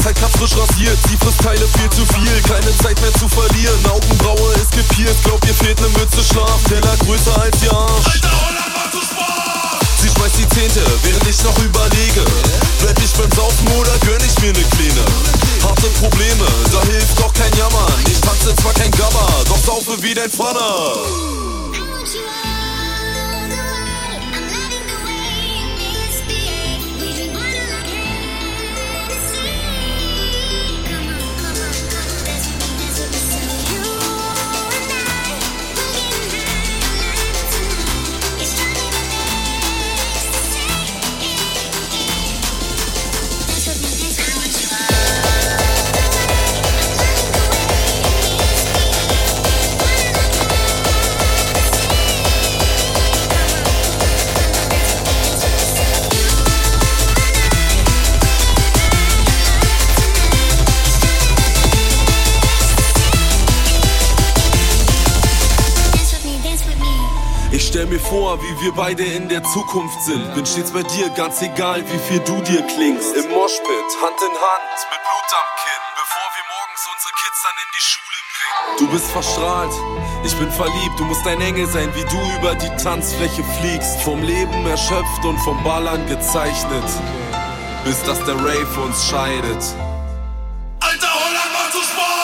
Sidecut frisch rasiert, sie frisst Teile viel zu viel. Keine Zeit mehr zu verlieren, Augenbraue ist gepierst. Glaub, ihr fehlt ne Mütze Schlaf, Teller größer als ihr Arsch. Alter Holland, mach du Sport! Sie schmeißt die Zehnte, während ich noch überlege. Bleib ich beim Saufen oder gönn ich mir ne Kleine? Harte Probleme, da hilft doch kein Jammern. Ich tanze zwar kein Gabber, doch saufe wie dein Vater. Ich stell mir vor, wie wir beide in der Zukunft sind. Bin stets bei dir, ganz egal, wie viel du dir klingst. Im Moshpit, Hand in Hand, mit Blut am Kinn, bevor wir morgens unsere Kids dann in die Schule bringen. Du bist verstrahlt, ich bin verliebt. Du musst ein Engel sein, wie du über die Tanzfläche fliegst. Vom Leben erschöpft und vom Ballern gezeichnet, bis dass der Rave uns scheidet. Alter Holland, mach du Sport!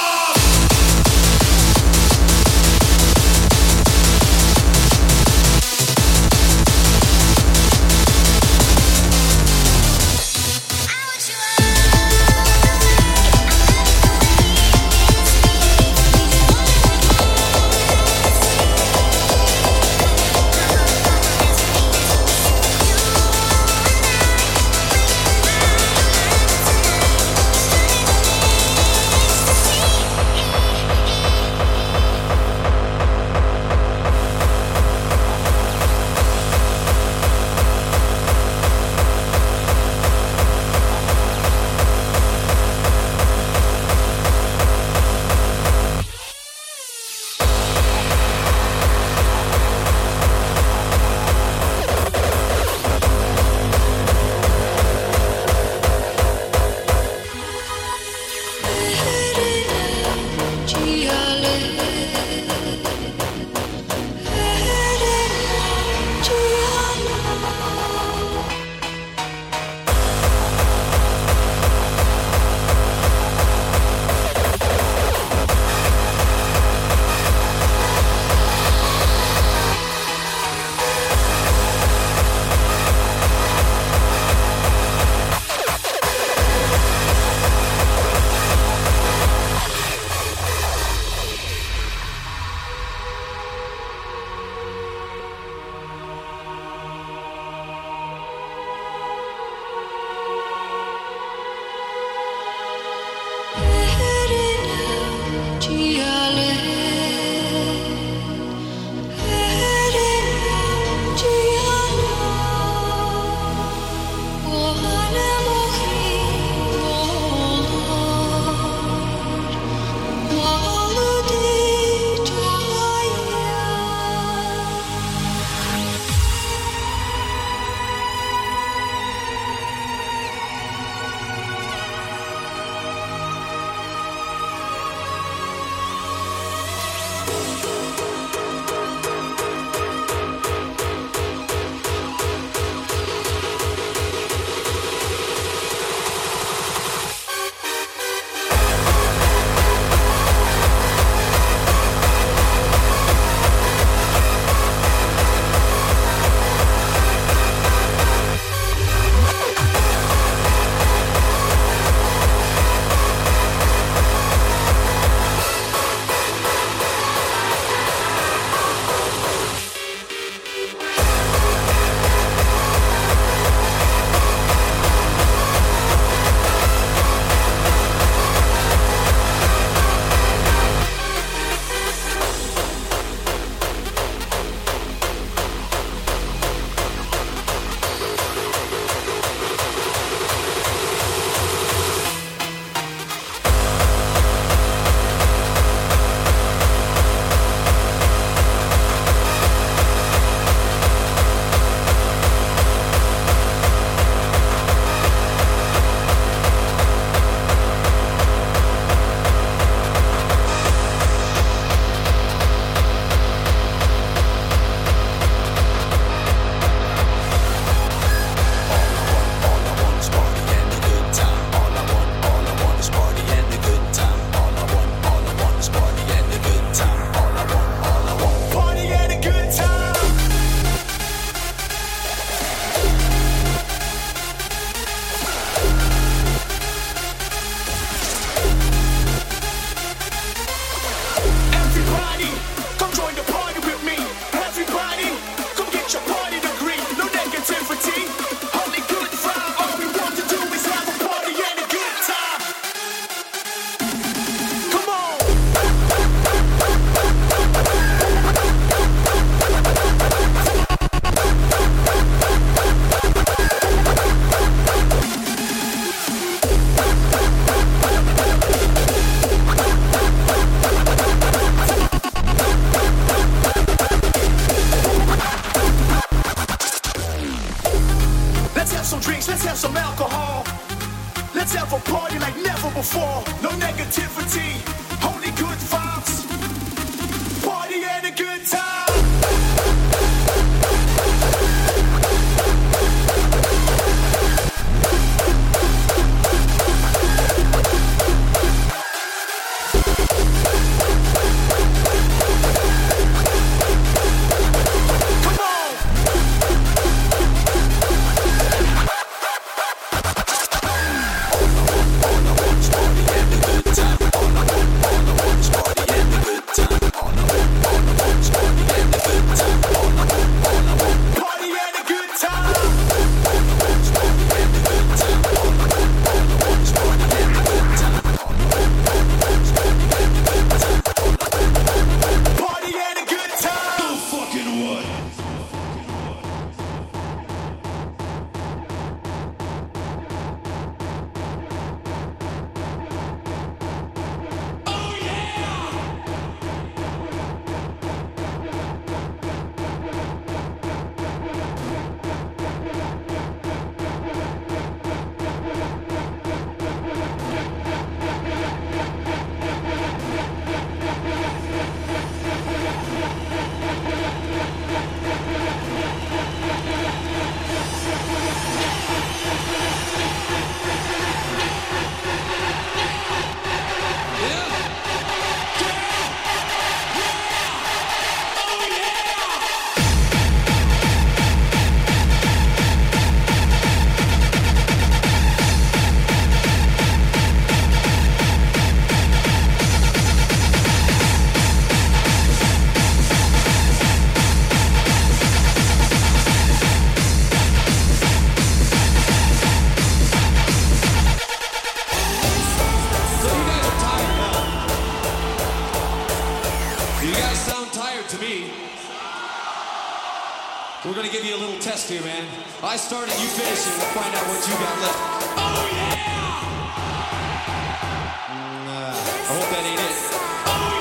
on, no negativity, only good vibes. Party and a good time. We're gonna give you a little test here, man. I start it, you finish it. We'll find out what you got left. Oh yeah! I hope that ain't it. Oh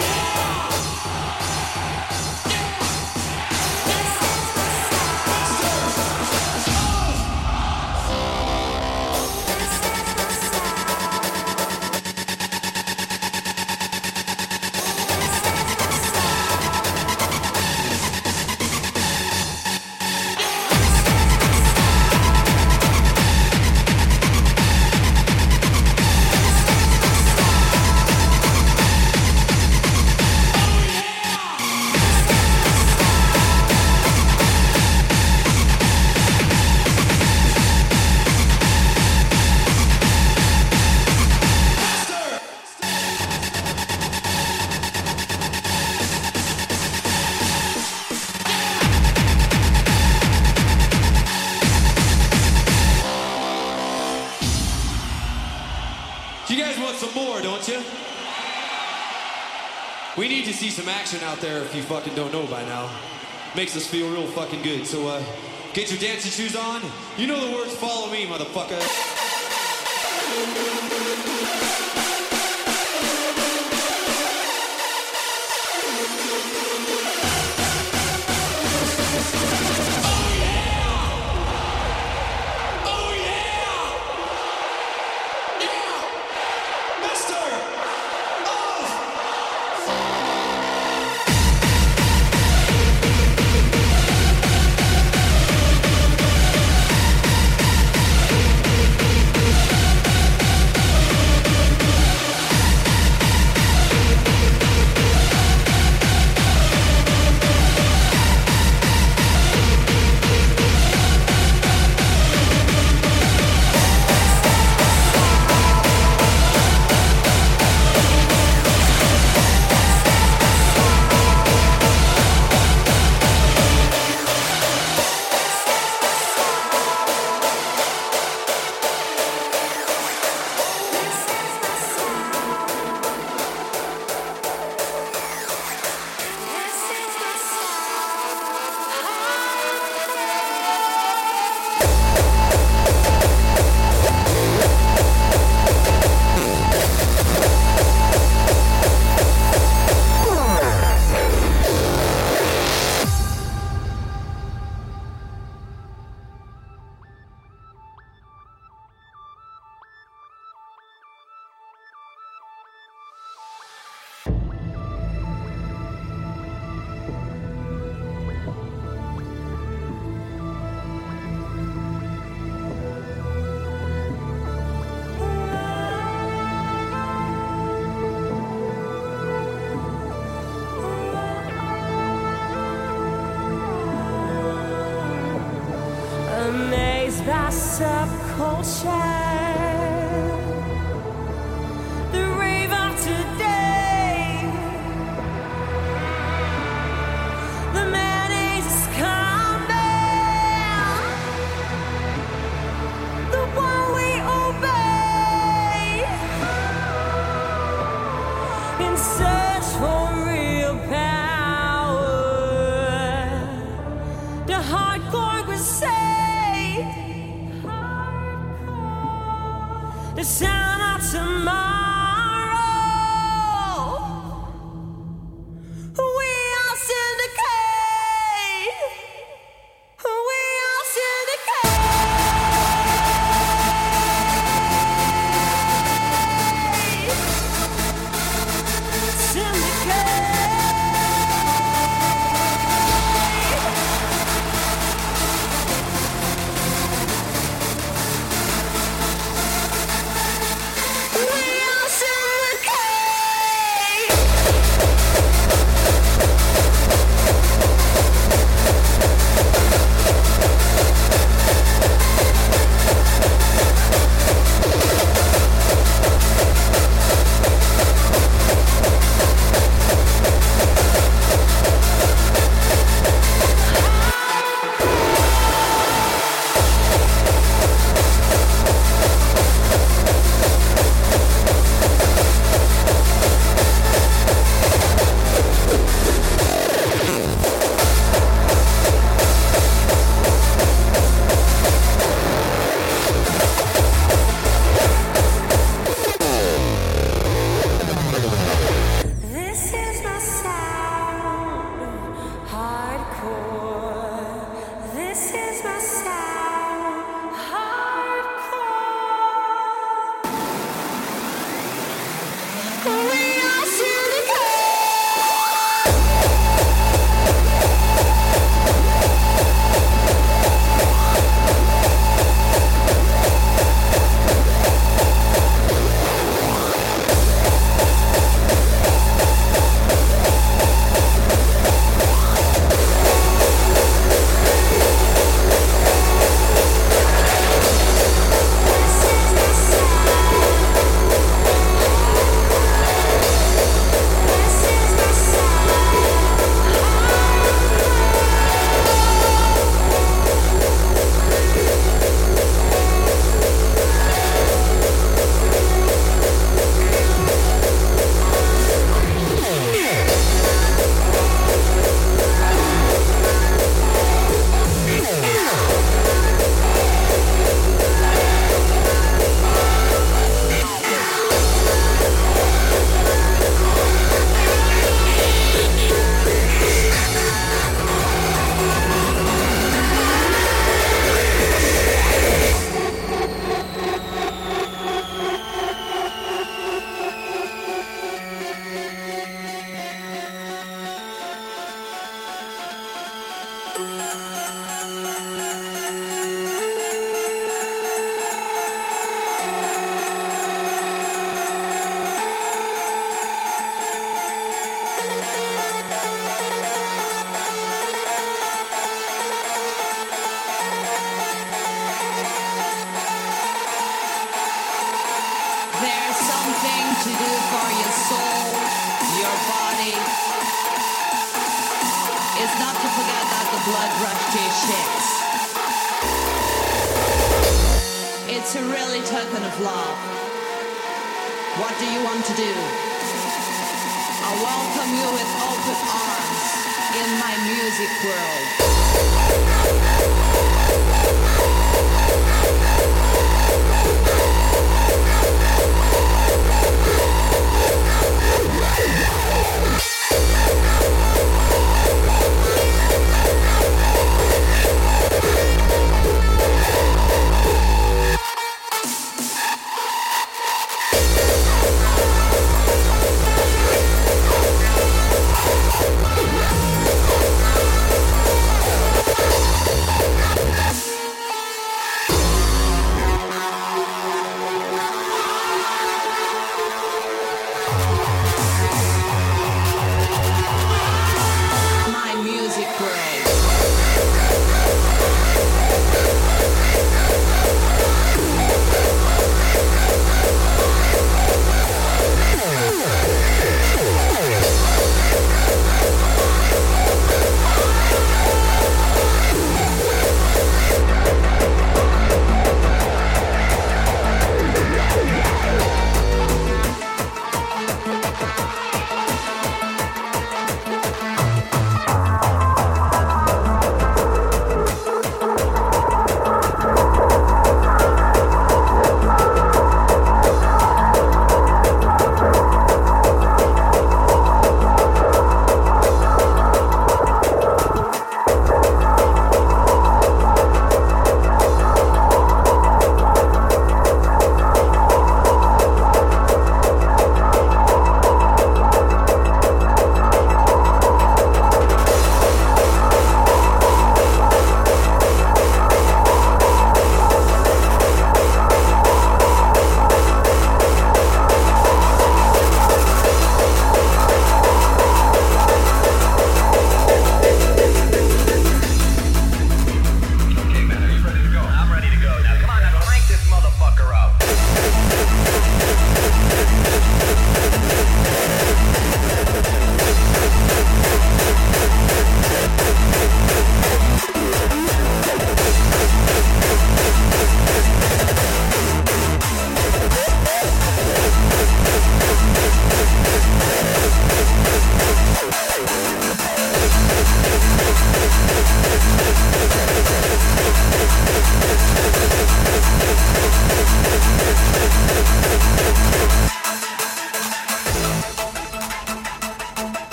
You guys want some more, don't you? We need to see some action out there if you fucking don't know by now. Makes us feel real fucking good. So, get your dancing shoes on. You know the words, follow me, motherfucker.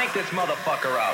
light this motherfucker up.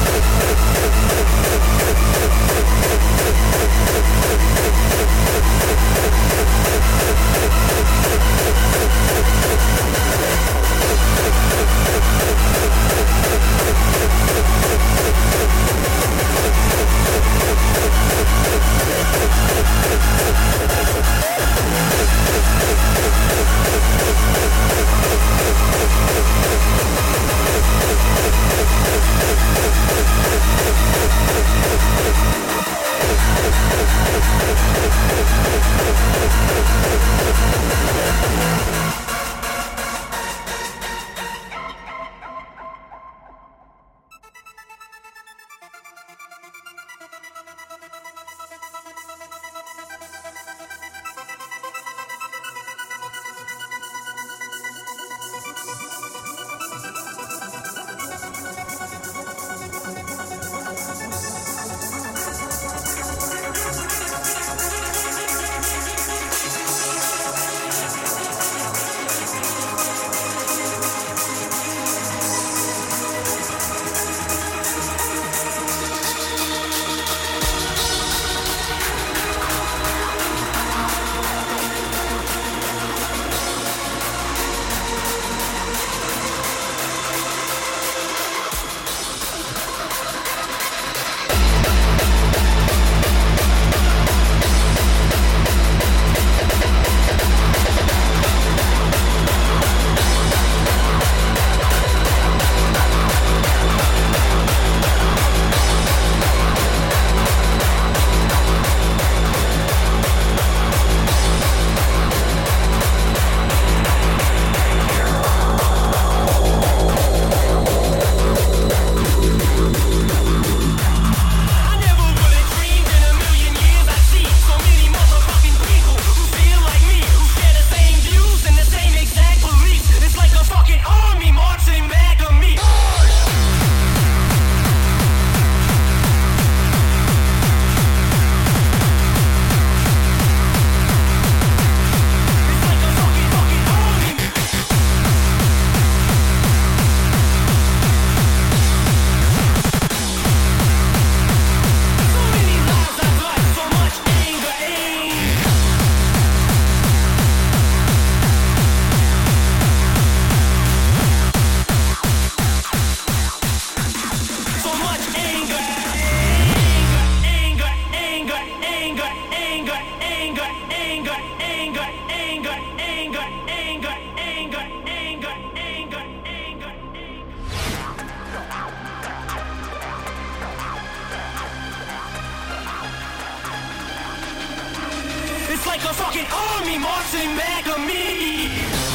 It's like a fucking army marching back on me.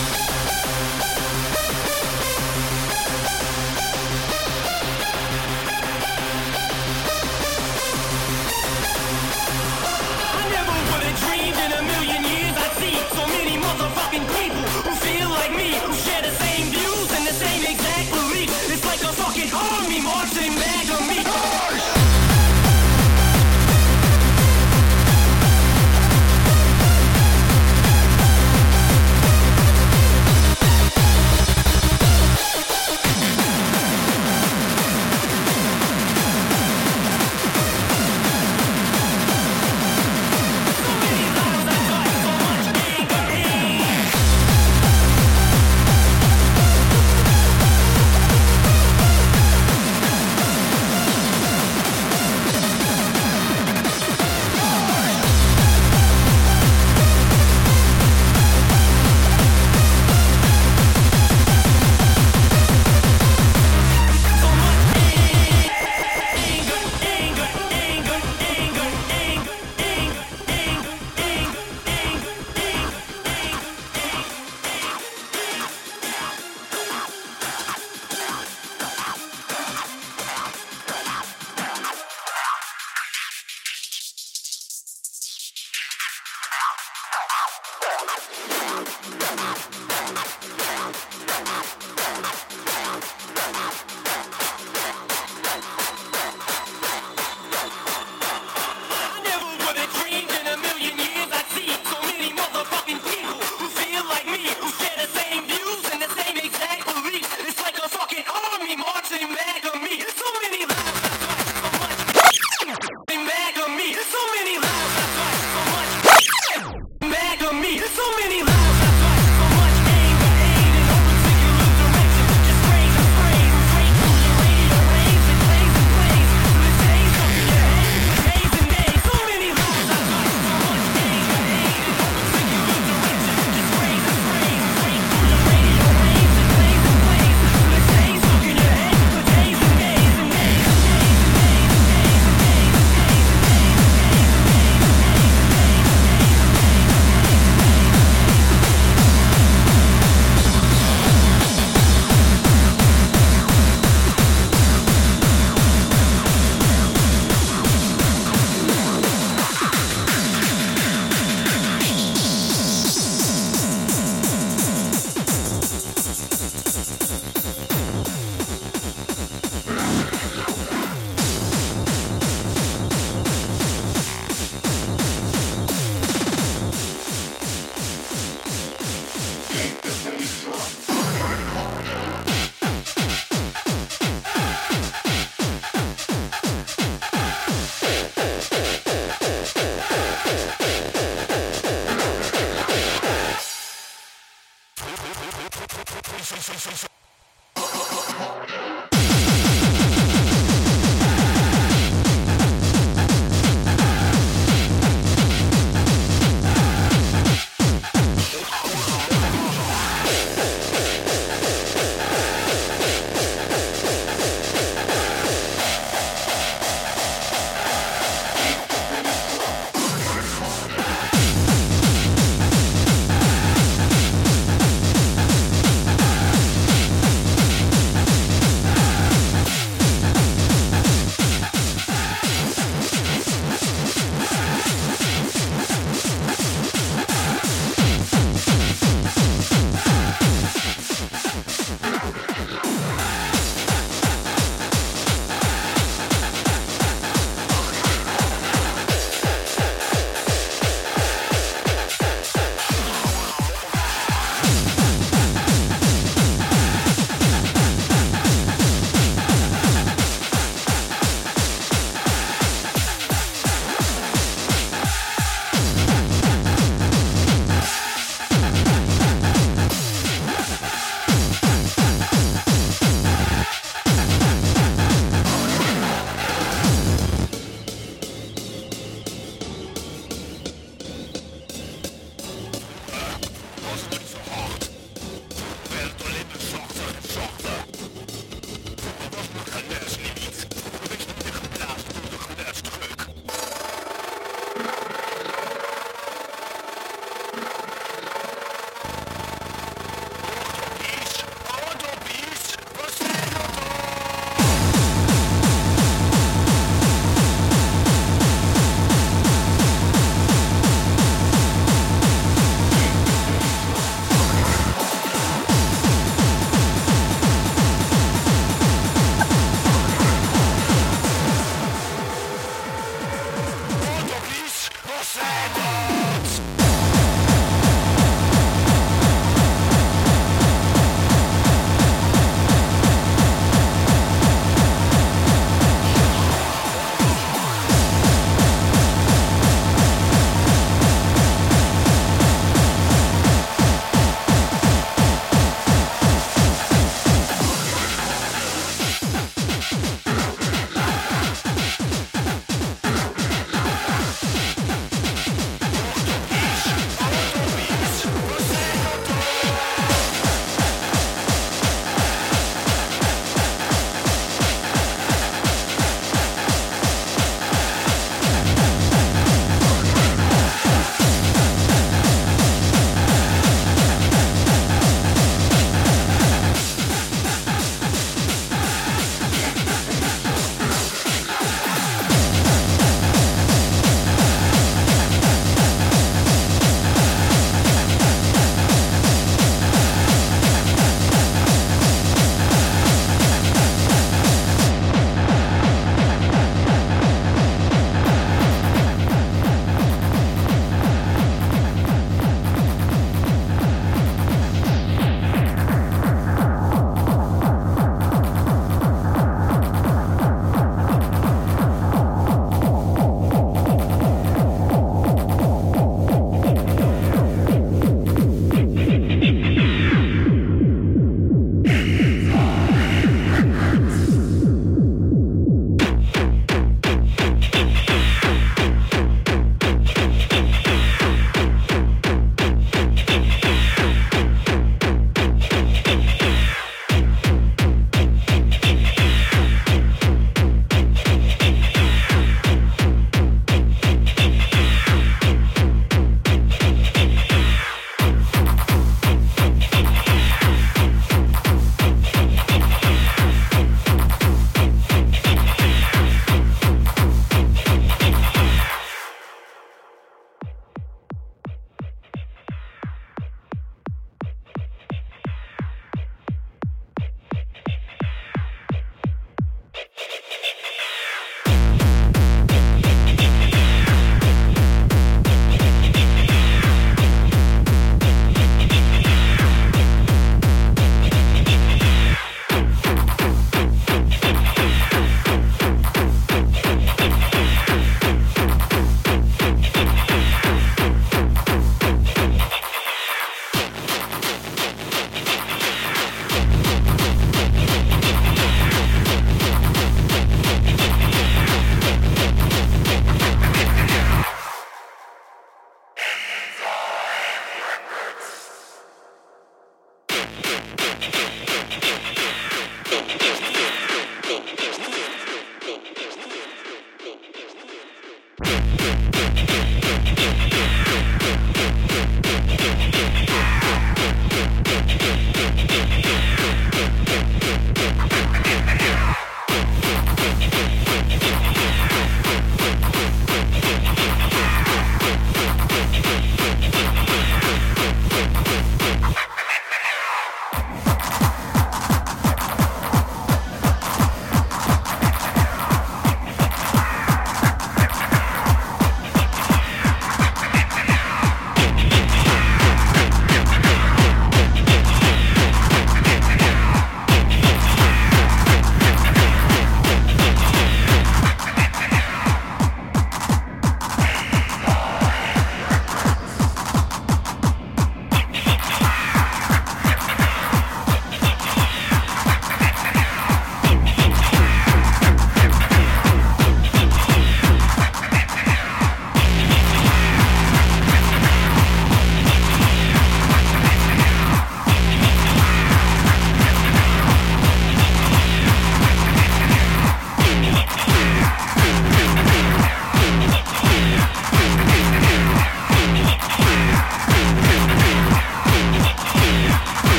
I never would have dreamed in a million years I'd see so many motherfucking people who feel like me, who share the same views and the same exact beliefs. It's like a fucking army marching back on me.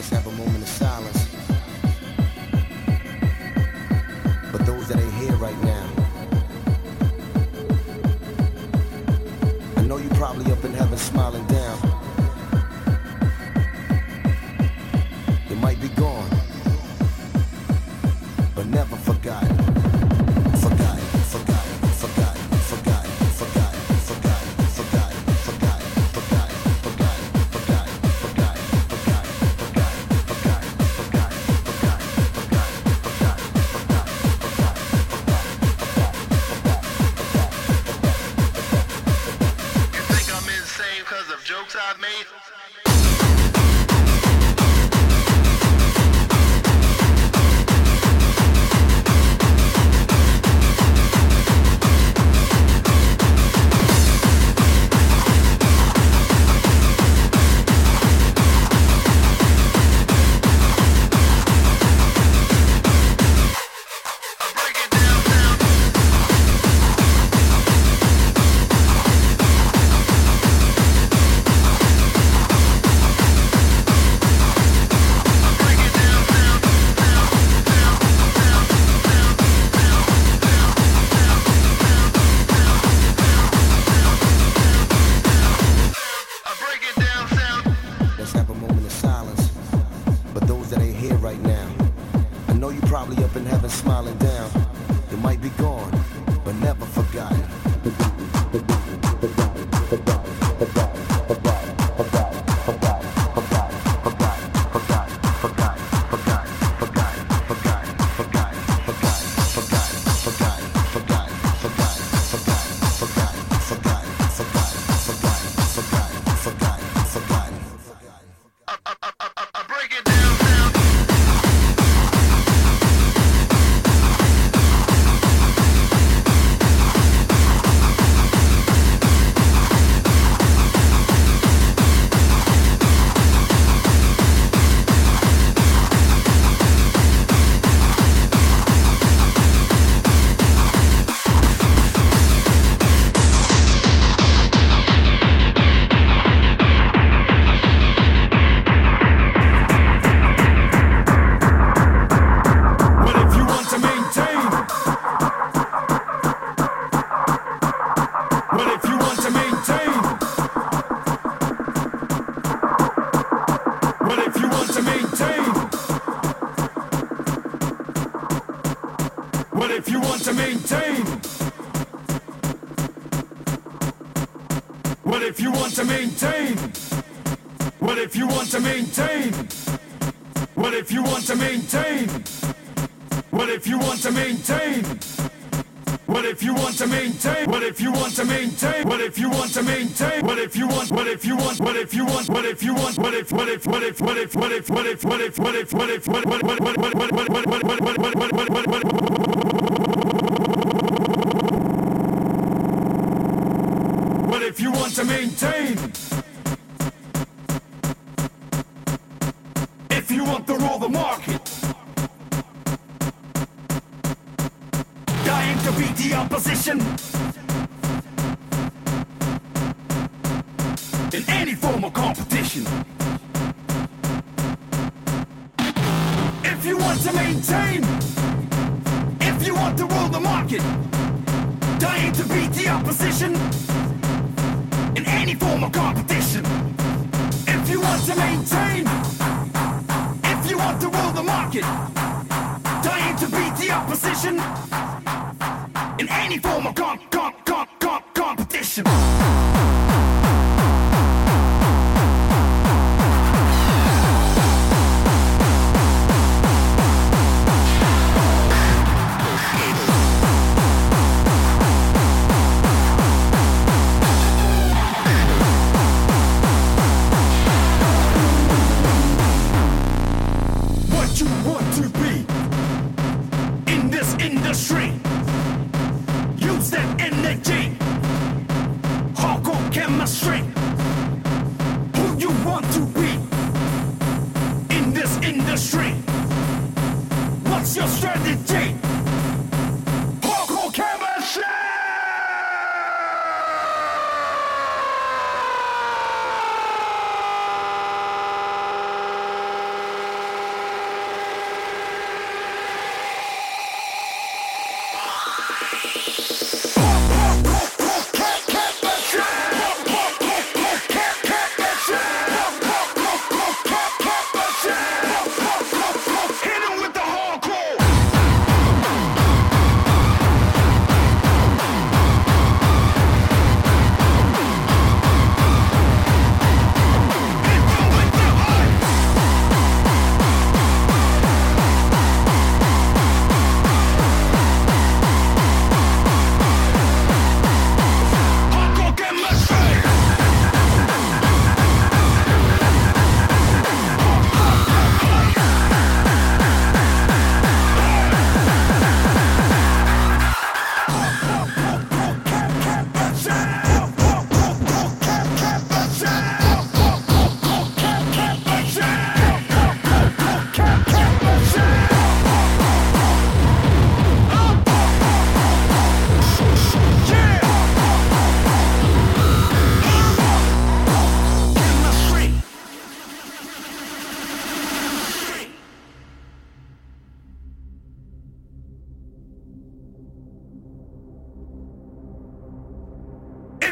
Let's have a moment of silence. But those that ain't here right now, I know you probably up in heaven smiling down. It might be gone, but never forgotten. Forgotten, forgotten, forgotten, forgotten, forgotten, forgotten, forgotten, forgotten, forgotten, forgotten, forgotten, forgotten, forgotten, forgotten, forgotten, forgotten, forgotten. You think I'm insane 'cause of jokes I've made?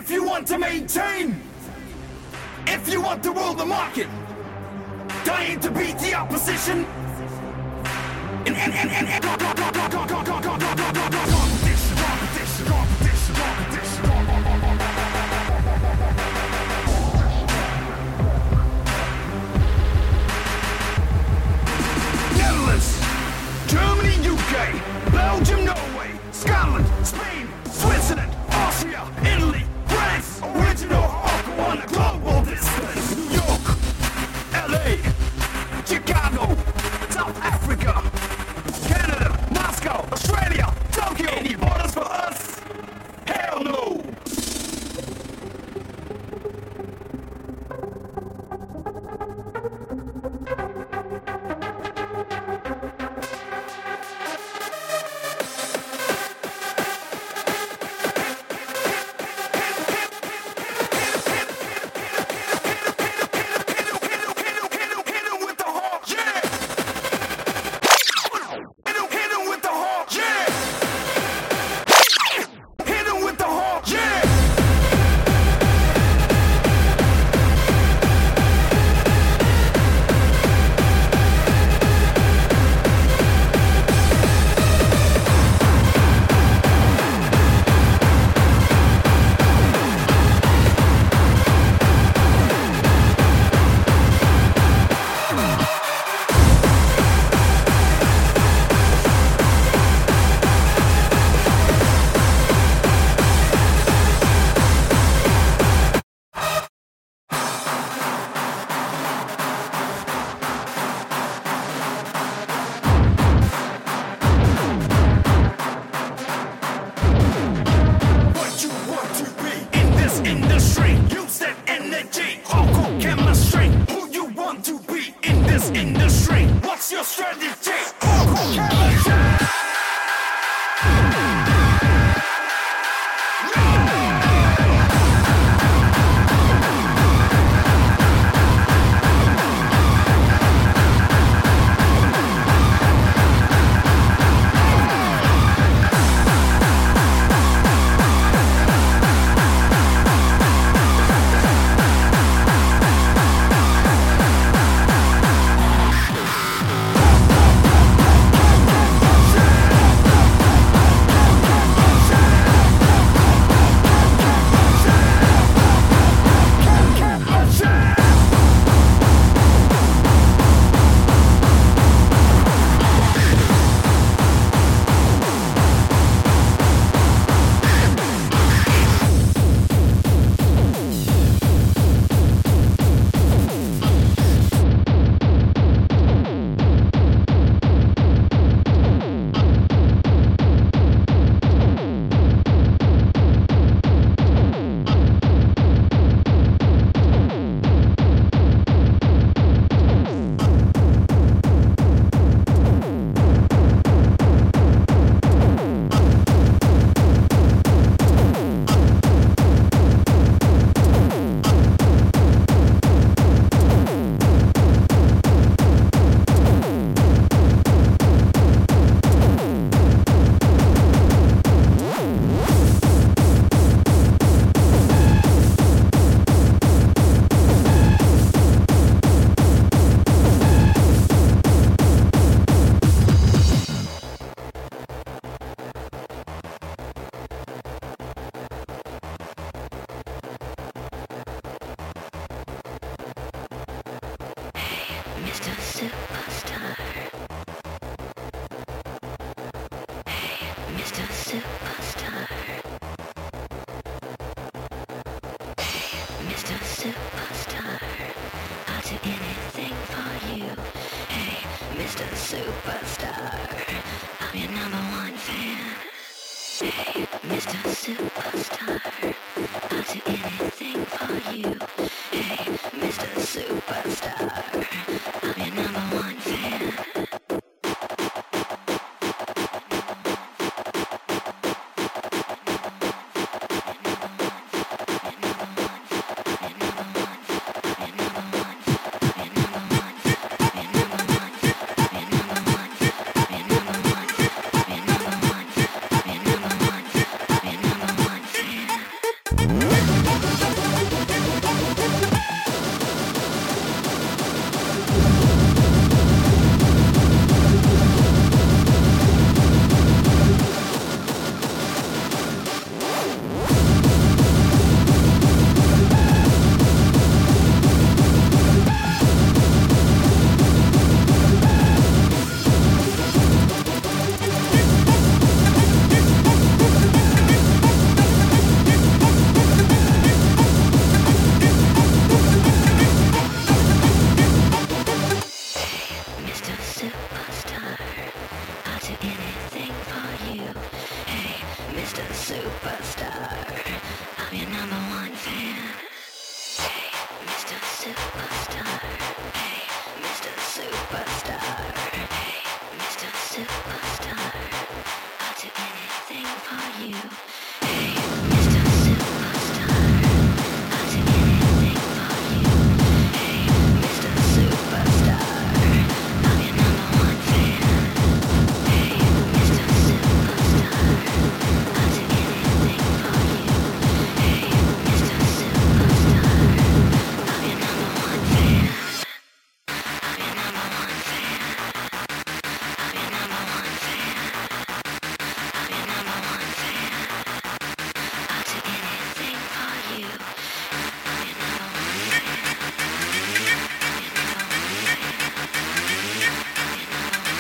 If you want to maintain, if you want to rule the market, dying to beat the opposition. Netherlands, Germany, UK, Belgium, Norway, Scotland, Spain, Switzerland, Austria, Italy, France, original hardcore on a global distance. New York, LA, Chicago, South Africa, Canada, Moscow, Australia, Tokyo. Any borders for us? Hell no! Mr. Superstar. Hey, Mr. Superstar. Hey, Mr. Superstar. I'll do anything for you. Hey, Mr. Superstar. I'm your #1 fan. Hey, Mr. Superstar. I'll do anything for you. Hey, Mr. Superstar. I'm your #1 fan. Superstar. I'm your number one fan. Hey, Mr. Superstar. Hey, Mr. Superstar. Hey, Mr. Superstar. I'll do anything for you. Hey, Mr. Superstar. I'll do anything for you. Hey, Mr. Superstar. I'm your number one fan. Hey, Mr. Superstar. I'll do anything for you. Hey, Mr. Superstar. I'm your number one fan. I'm your number one fan. I'm your number one fan. I'm your number one fan. I'll do anything for you. I'm your number one fan. I'm your number one fan. I'm your number one fan. I'm your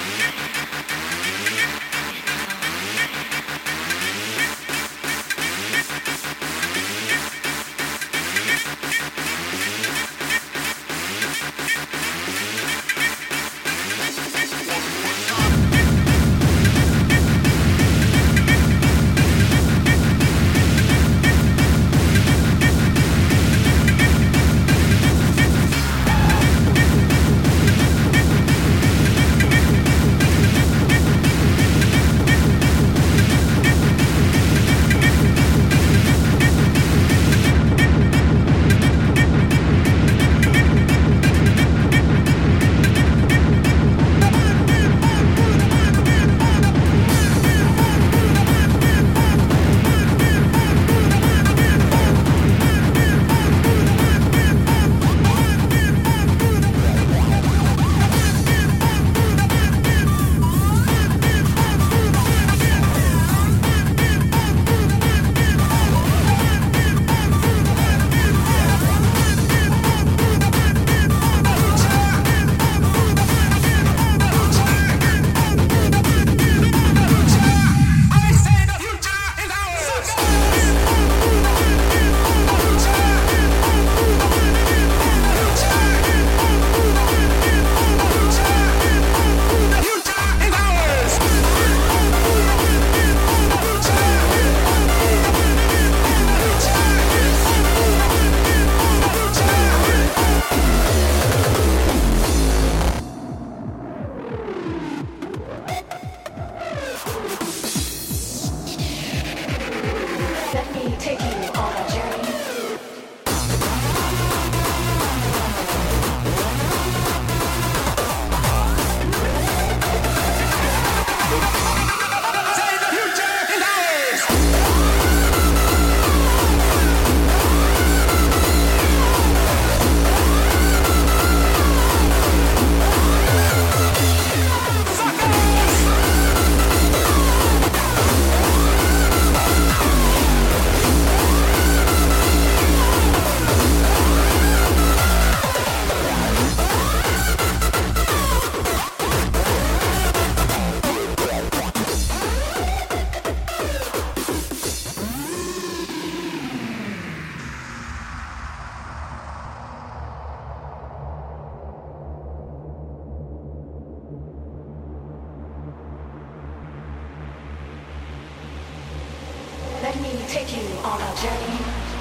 Let me take you on a journey.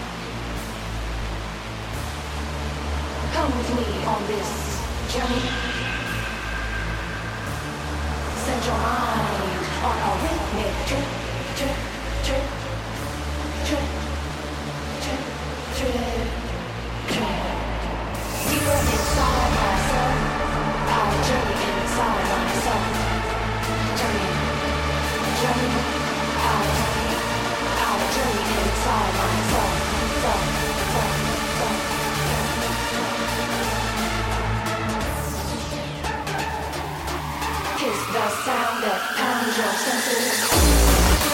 Come with me on this journey. Set your mind on a rhythmic trip, trip, trip, trip, trip, trip, trip. Deeper inside myself, our journey inside myself. Journey, journey, our journey inside myself, self, self, self. Kiss the sound that pounds your senses.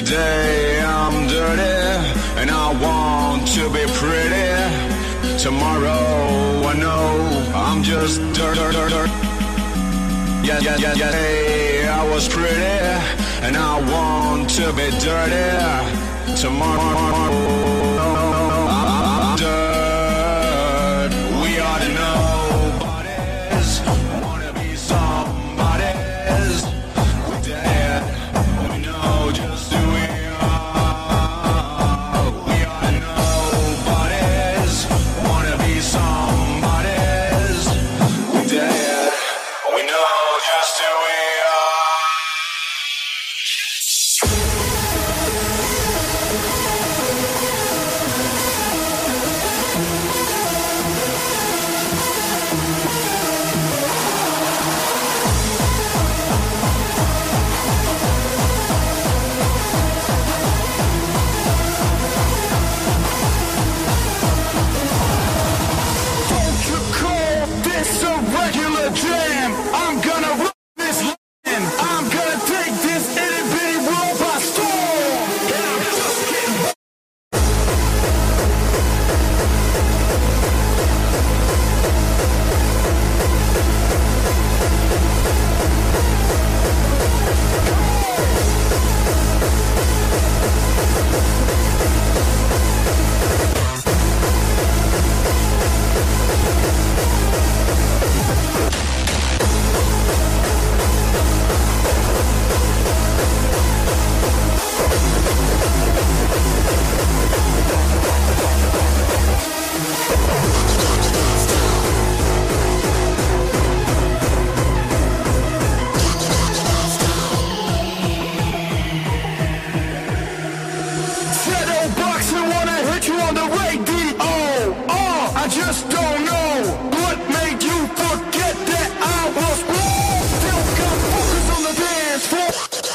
Today I'm dirty and I want to be pretty. Tomorrow I know I'm just dirt. Yeah. Hey, I was pretty and I want to be dirty. Tomorrow I'm dirt. We ought to nobodies wanna be somebody's. We're dead. We know just who we are. We ought to nobodies wanna be somebody's. We're dead. We know just who we are. Don't you call this a regular jam? I'm gonna run this land. I'm gonna take this itty bitty world by storm. And I'm just getting shadow boxing, wanna hit you on the radio. I just don't know what made you forget that I was wrong. Still got focus on the dance floor.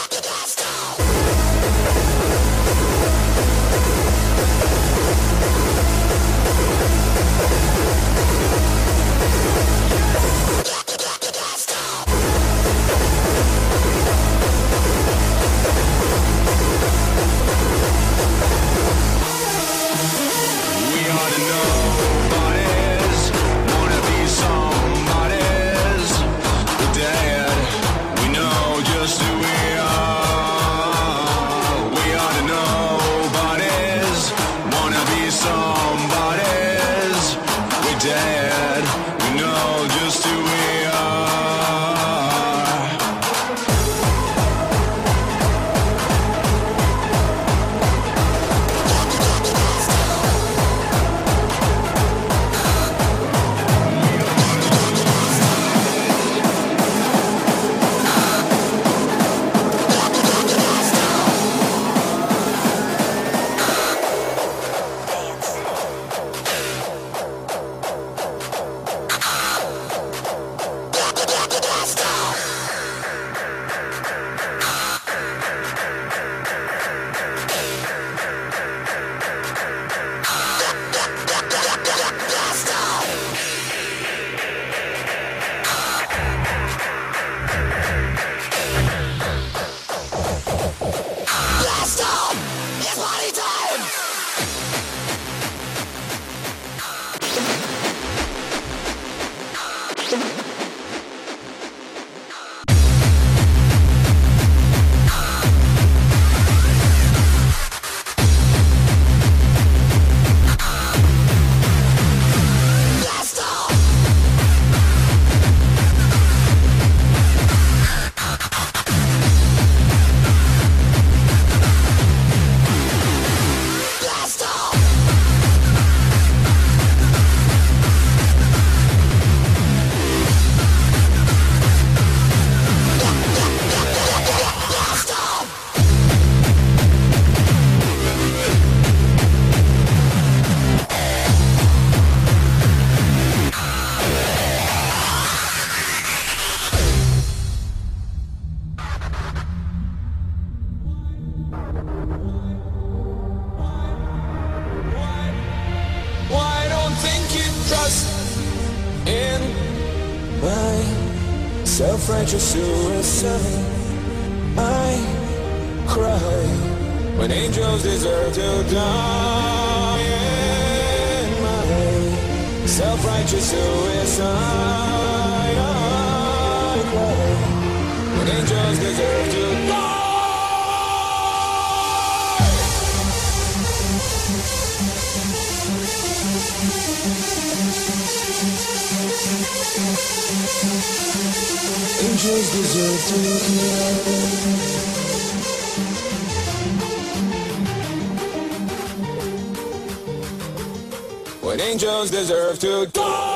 We ought to nobodies wanna be somebody's. We're dead. We know just who we are. We ought to nobodies wanna be somebody's. We're dead. We know just who we are. Self-righteous suicide. I cry when angels deserve to die in my self-righteous suicide. I cry when angels deserve to die. Angels deserve to die. When angels deserve to die.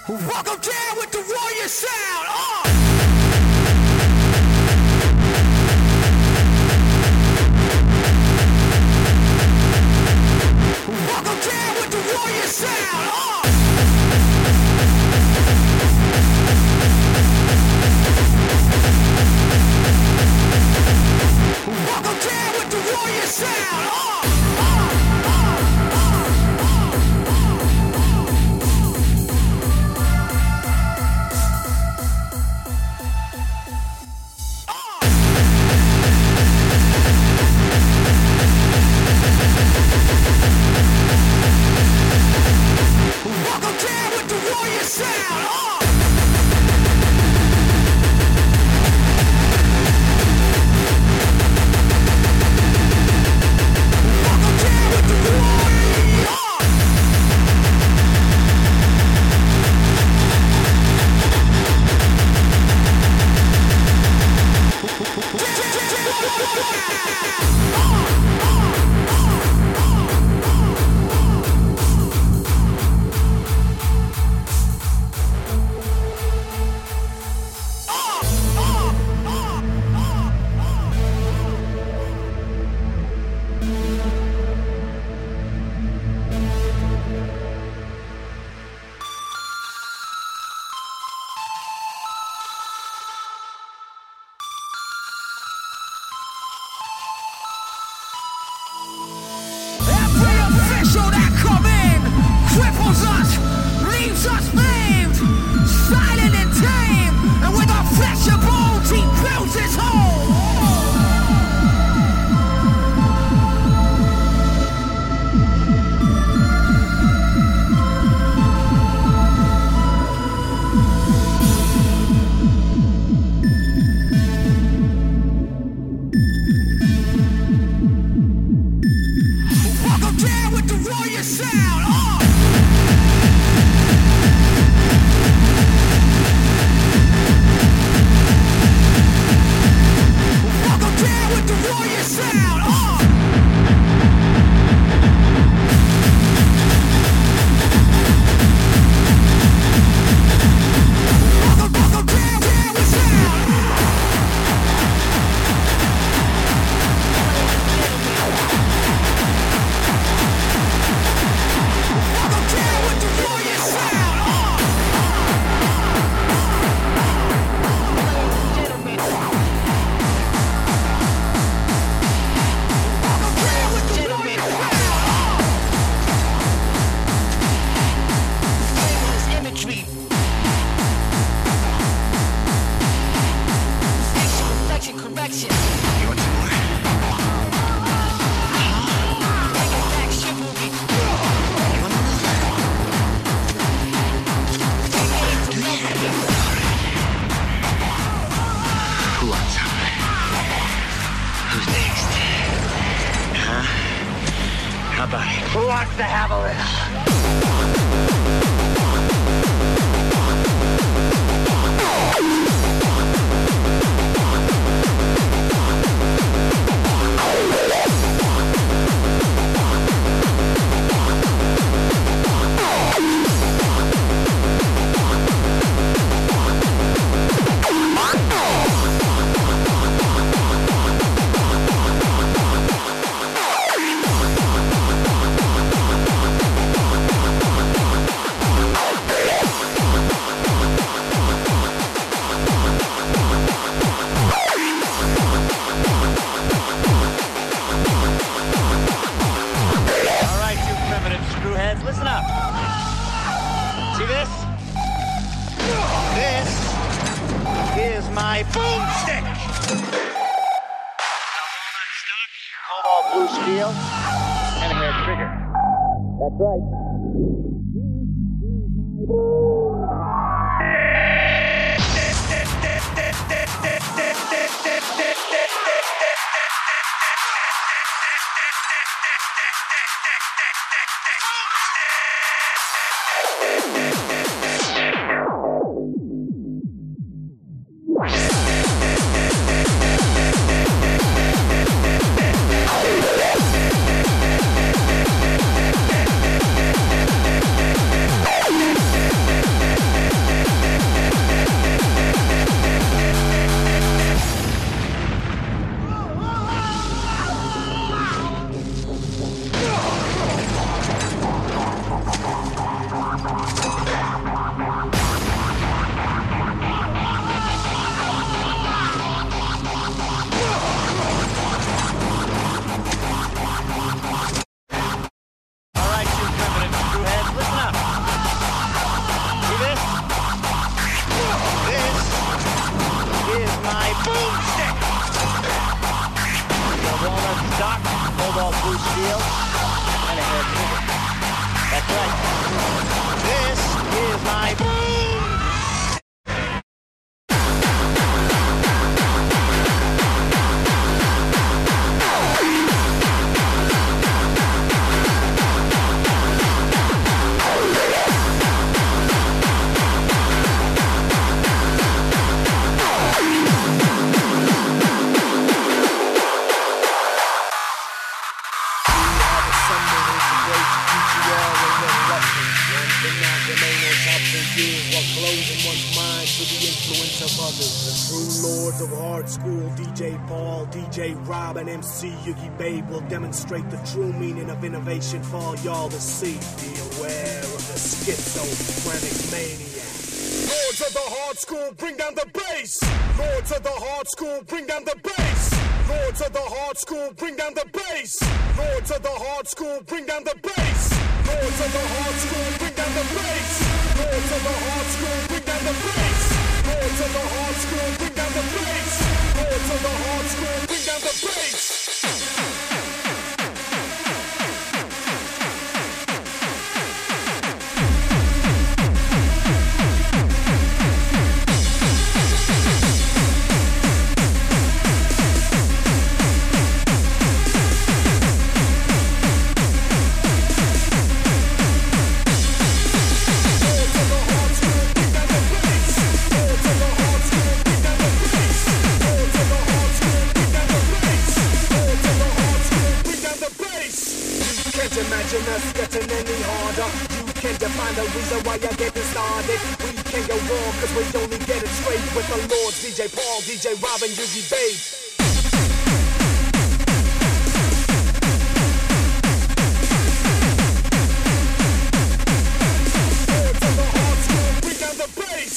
Welcome down with the warrior sound. Welcome down with the warrior sound. Welcome down with the warrior sound. Welcome down with the warrior sound. Welcome down with the warrior. Every official that come in cripples us, leaves us maimed, silent and tame, and with our flesh and bones he builds his home. Welcome down with the warrior sound. Welcome down with the warrior sound. Welcome down with sound. Welcome down with the warrior sound. Welcome down with the warrior sound. Timeless imagery. Action, reflection, correction. Take it back, chivalry. Who wants some? Who's next? Huh? How about it? Who wants to have a little? All right, you primitive screwheads, listen up. See this? This is my boomstick. Walnut stock, cobalt blue steel, and a hair trigger. That's right. steel and a hair trigger. That's right. This is my boom! Of hard school, DJ Paul, DJ Rob, and MC Yugi Babe will demonstrate the true meaning of innovation for all y'all to see. Be aware of the schizophrenic maniac. Lords of the hard school, bring down the bass. Lords of the hard school, bring down the bass. Lords of the hard school, bring down the bass. Lords of the hard school, bring down the bass. Lords of the hard school, bring down the bass. Lords of the hard school, bring down the bass. Lords of the hard school, bring down the bass. Lords of the hard school, bring down the bass. Imagine us getting any harder. You can't define the reason why you're getting started. We can't go wrong cause we only get it straight with the Lords, DJ Paul, DJ Rob, and Yugi Babe. Lords of the hard school, bring down the bass.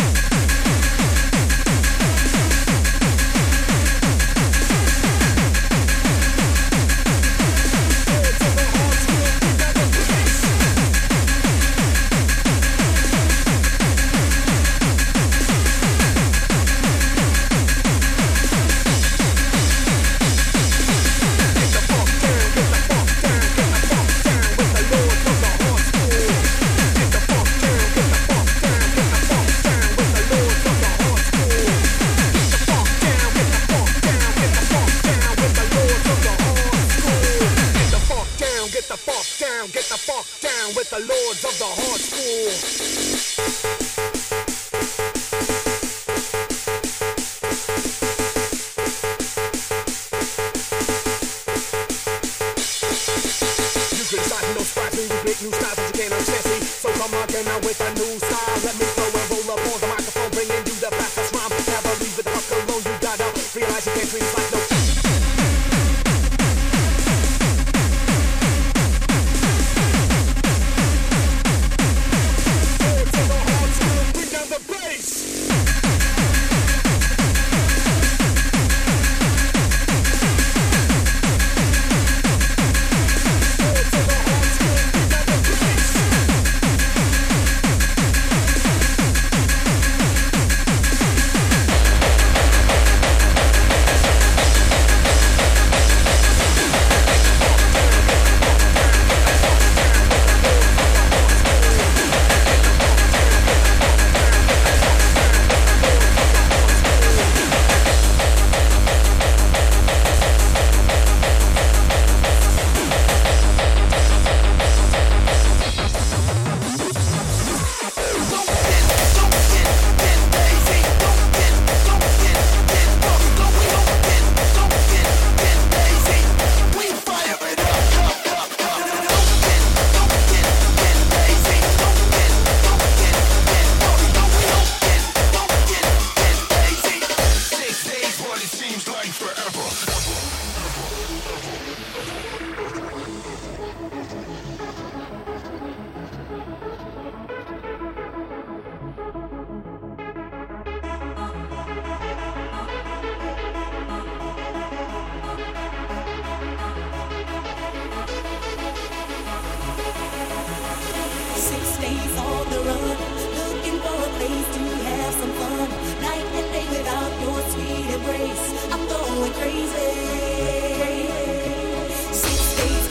Get the fuck down with the Lords of the hard school. You criticize no surprise me with big new styles that you can't understand. So come on, came out with a new style. Let me throw and roll up on the microphone, bringing you the fastest rhyme. Never leave with the fuck alone. You gotta realize you can't treat us like no. embrace. I'm going crazy. 6 days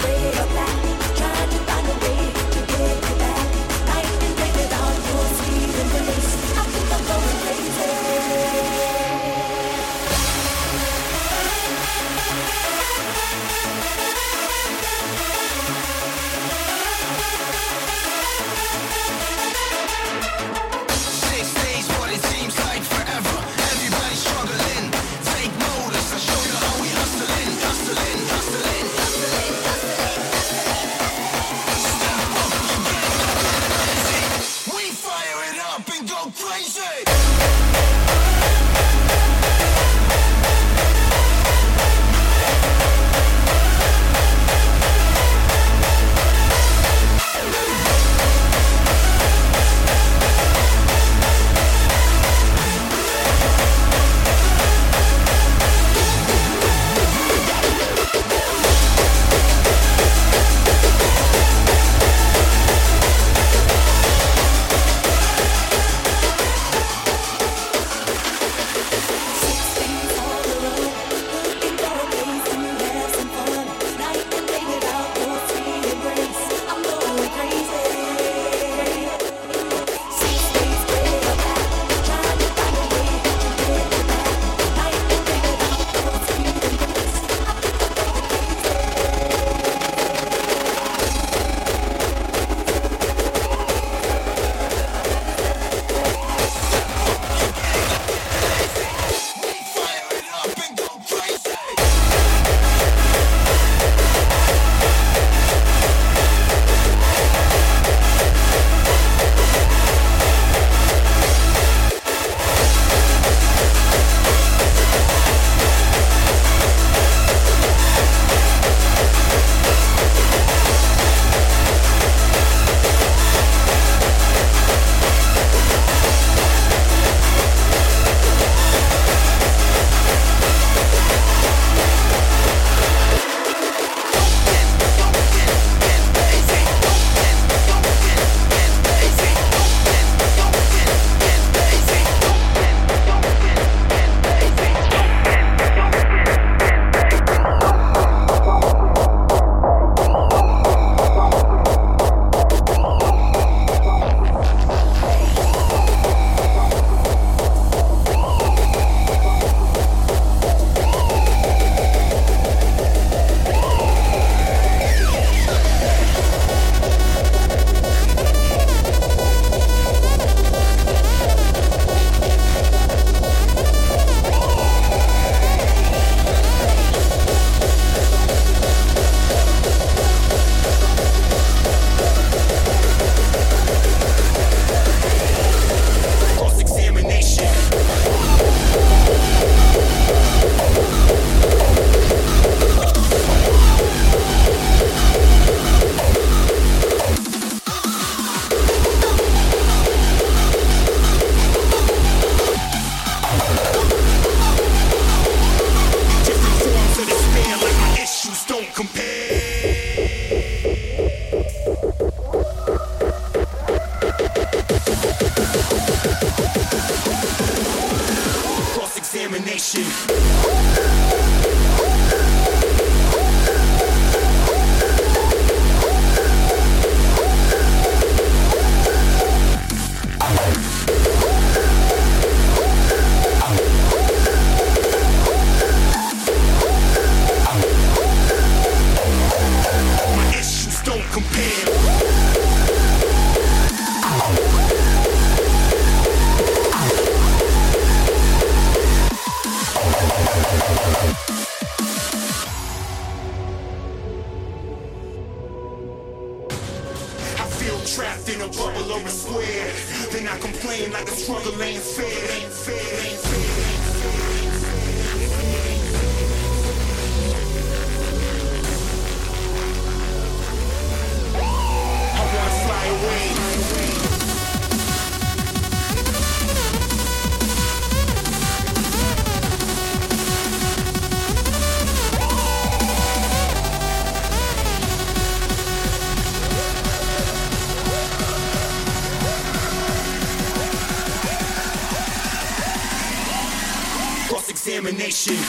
Still trapped in a bubble or a square. Then I complain like the struggle ain't fair. I wanna fly away. Cross-examination.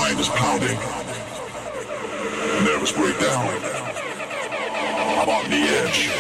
mind is pounding. Nervous breakdown. I'm on the edge.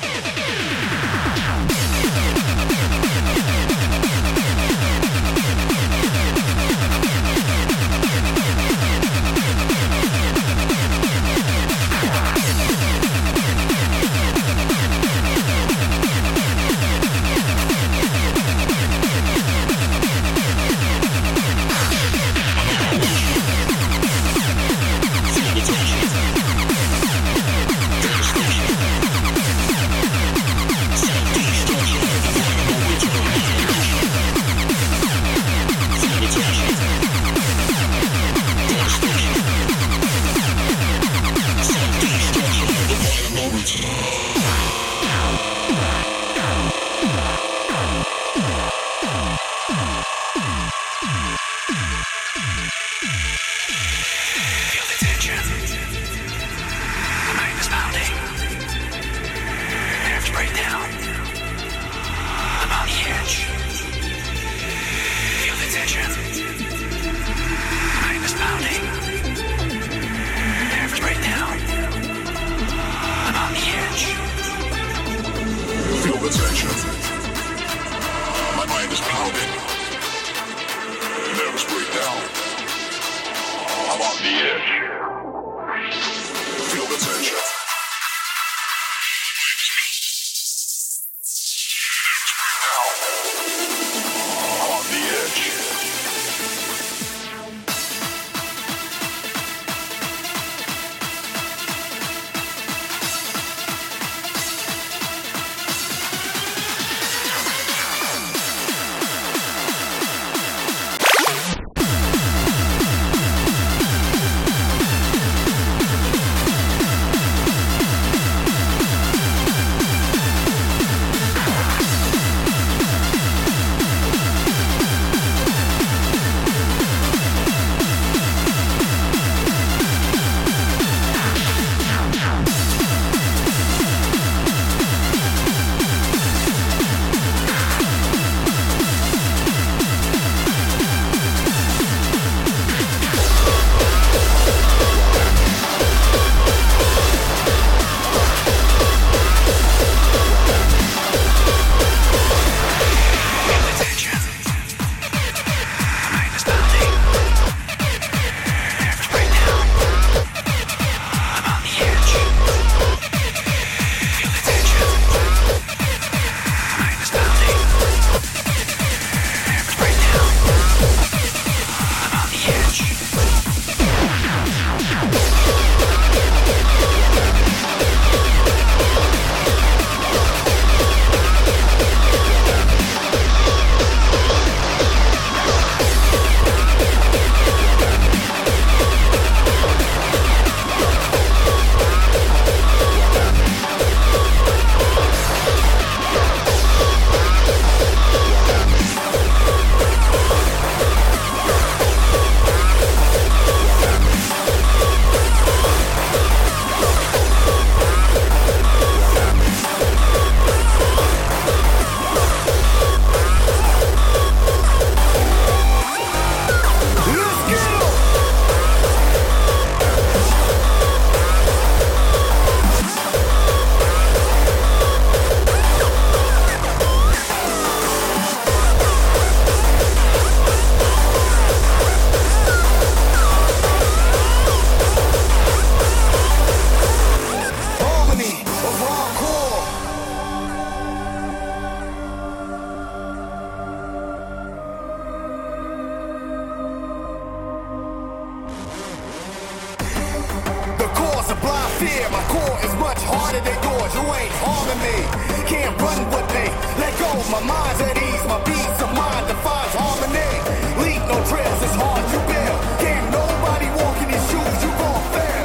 fear. My core is much harder than yours. You ain't harming me. Can't run with me. Let go. My mind's at ease. My peace of mind defines harmony. Leave no trails. It's hard to build. Can't nobody walk in these shoes. You gon' fail.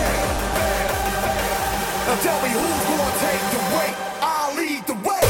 Now tell me who's gonna take the weight. I'll lead the way.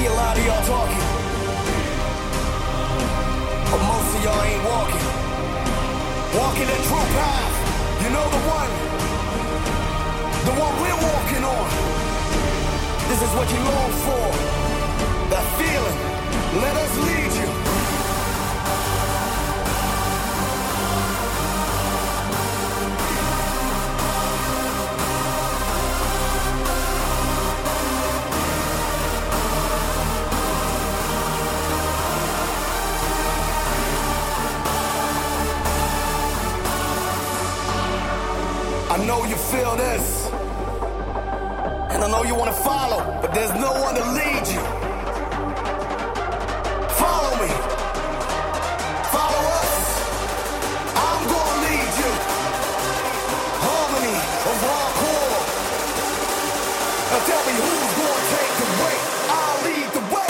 see a lot of y'all talking, but most of y'all ain't walking. Walking the true path. You know the one we're walking on. This is what you long for. That feeling. Let us lead you. I know you feel this, and I know you want to follow, but there's no one to lead you. Follow me. Follow us. I'm gonna lead you. Harmony of hardcore. Now tell me who's gonna take the way. I'll lead the way.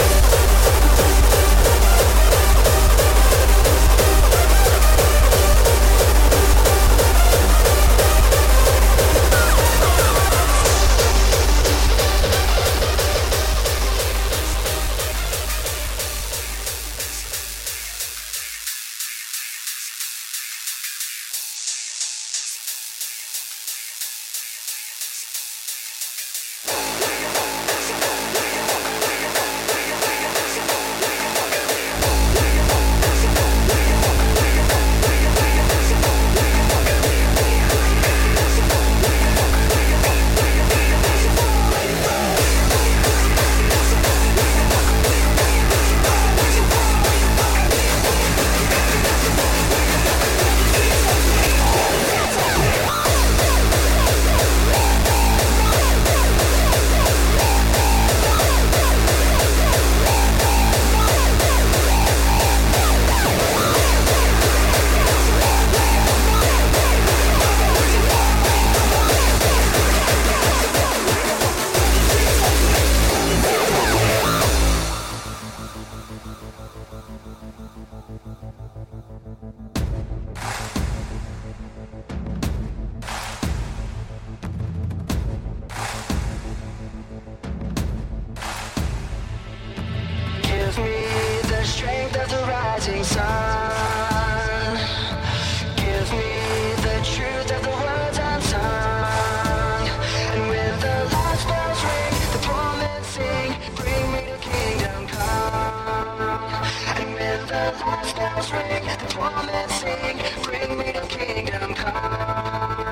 Gives me the strength of the rising sun. Gives me the truth of the words unsung. And with the last bells ring, the poor men sing, bring me to kingdom come. And with the last bells ring, the poor men sing, bring me to kingdom come.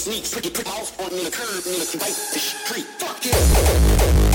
sneak, tricky, put off on the curb, nigga, wipe the street. Fuck it.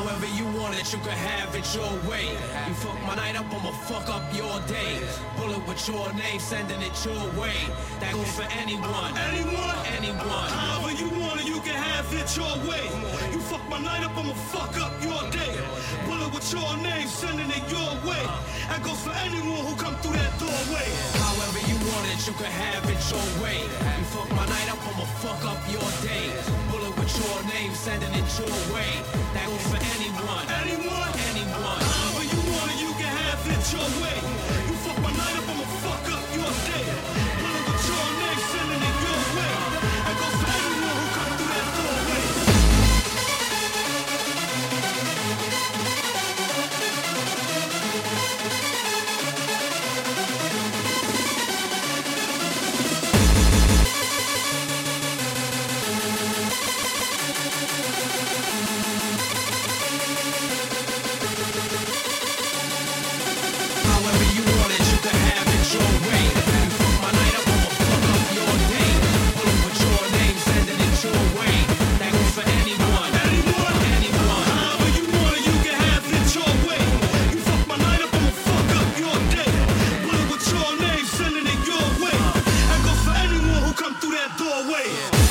However you want it, you can have it your way. You fuck my night up, I'ma fuck up your day. Bullet with your name, sending it your way. That goes for anyone. Anyone? Anyone. However you want it, you can have it your way. You fuck my night up, I'ma fuck up your day. Bullet with your name, sending it your way. That goes for anyone who come through that doorway. However you want it, you can have it your way. You fuck my night up, I'ma fuck up your day. Bullet with your name, sending it your way. That goes for anyone. Anyone? Anyone. However you want it, you can have it your way. You fuck my night up, I'ma fuck up your day. Bullet with your name, sending it your way. That goes for anyone who come through that doorway. However you want it, you can have it your way. You fuck my night up, I'ma fuck up your day. Bullet with your name, sending it your way. That goes for anyone. Anyone? Anyone. However you want it, you can have it your way. You fuck my night up, I'ma fuck up your day. Bullet with your name, sending it your way. That goes for anyone who come through that doorway.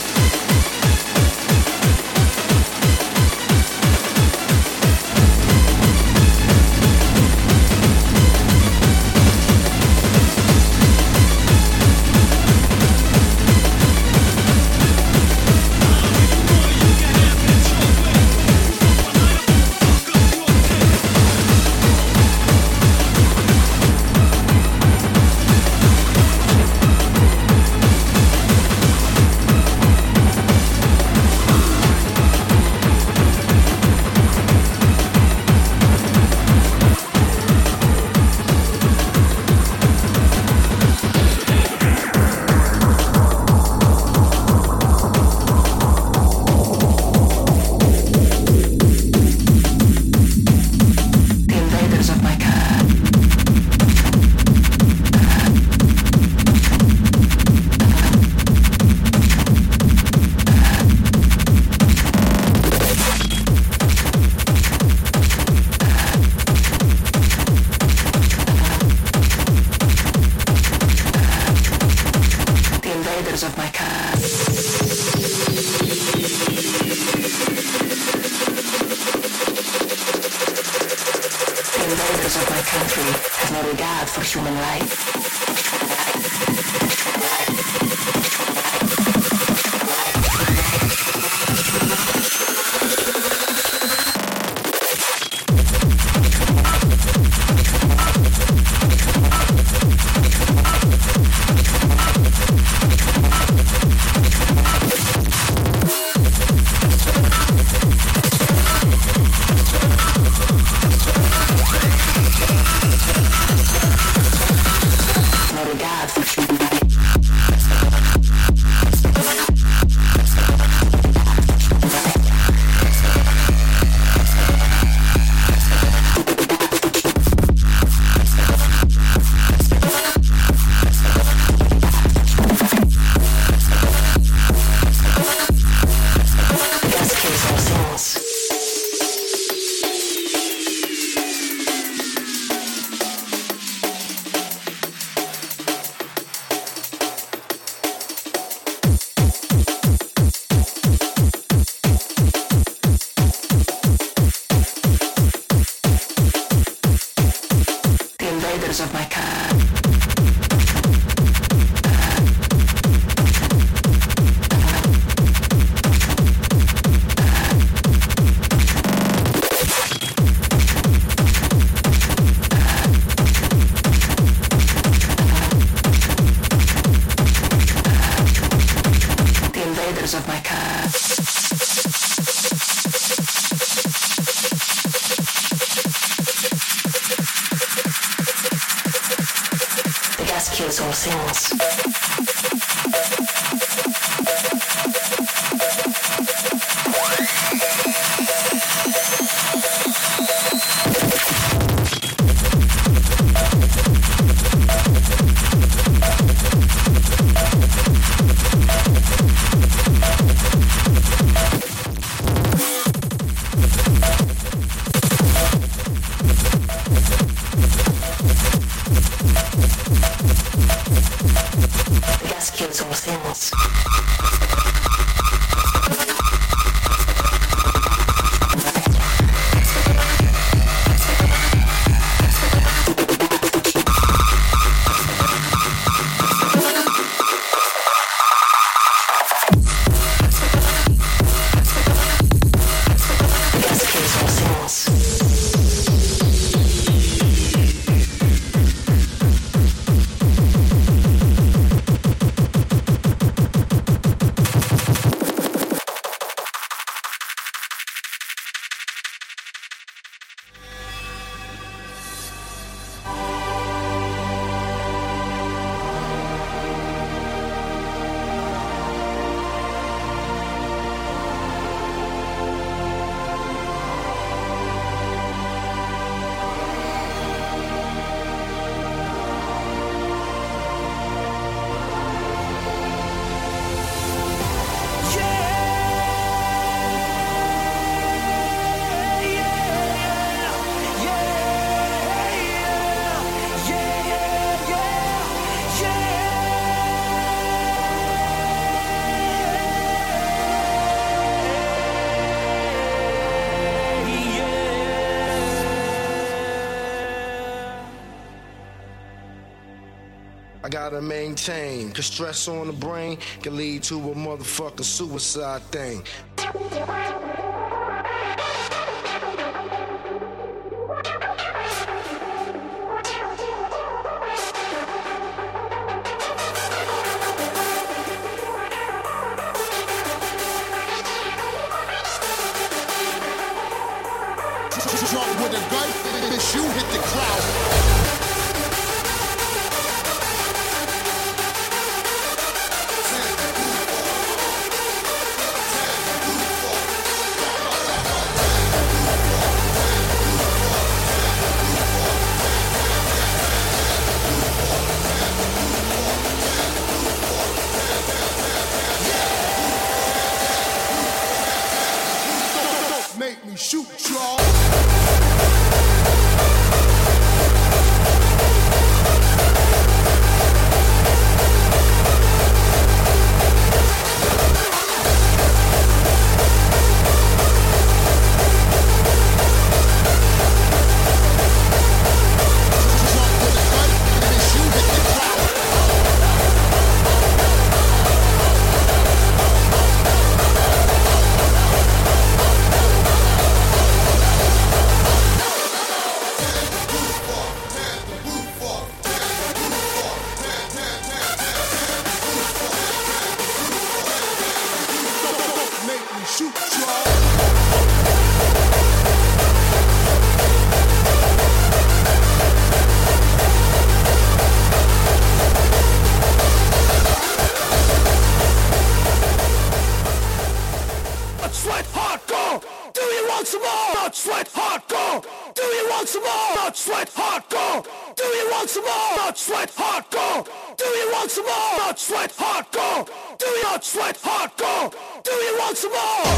Of my car. The invaders of my car. Kills all things. gotta maintain. Cause stress on the brain can lead to a motherfucking suicide thing. Drunk with a gun, this you hit the crowd. Don't make me shoot y'all. Sweat hardcore. Do you want some more? Not sweat hardcore. Do you want some more? Not sweat hardcore. Do you want some more? Not sweat hardcore. Do you want some more? Not sweat hardcore. Do you not sweat hardcore? Do you want some more?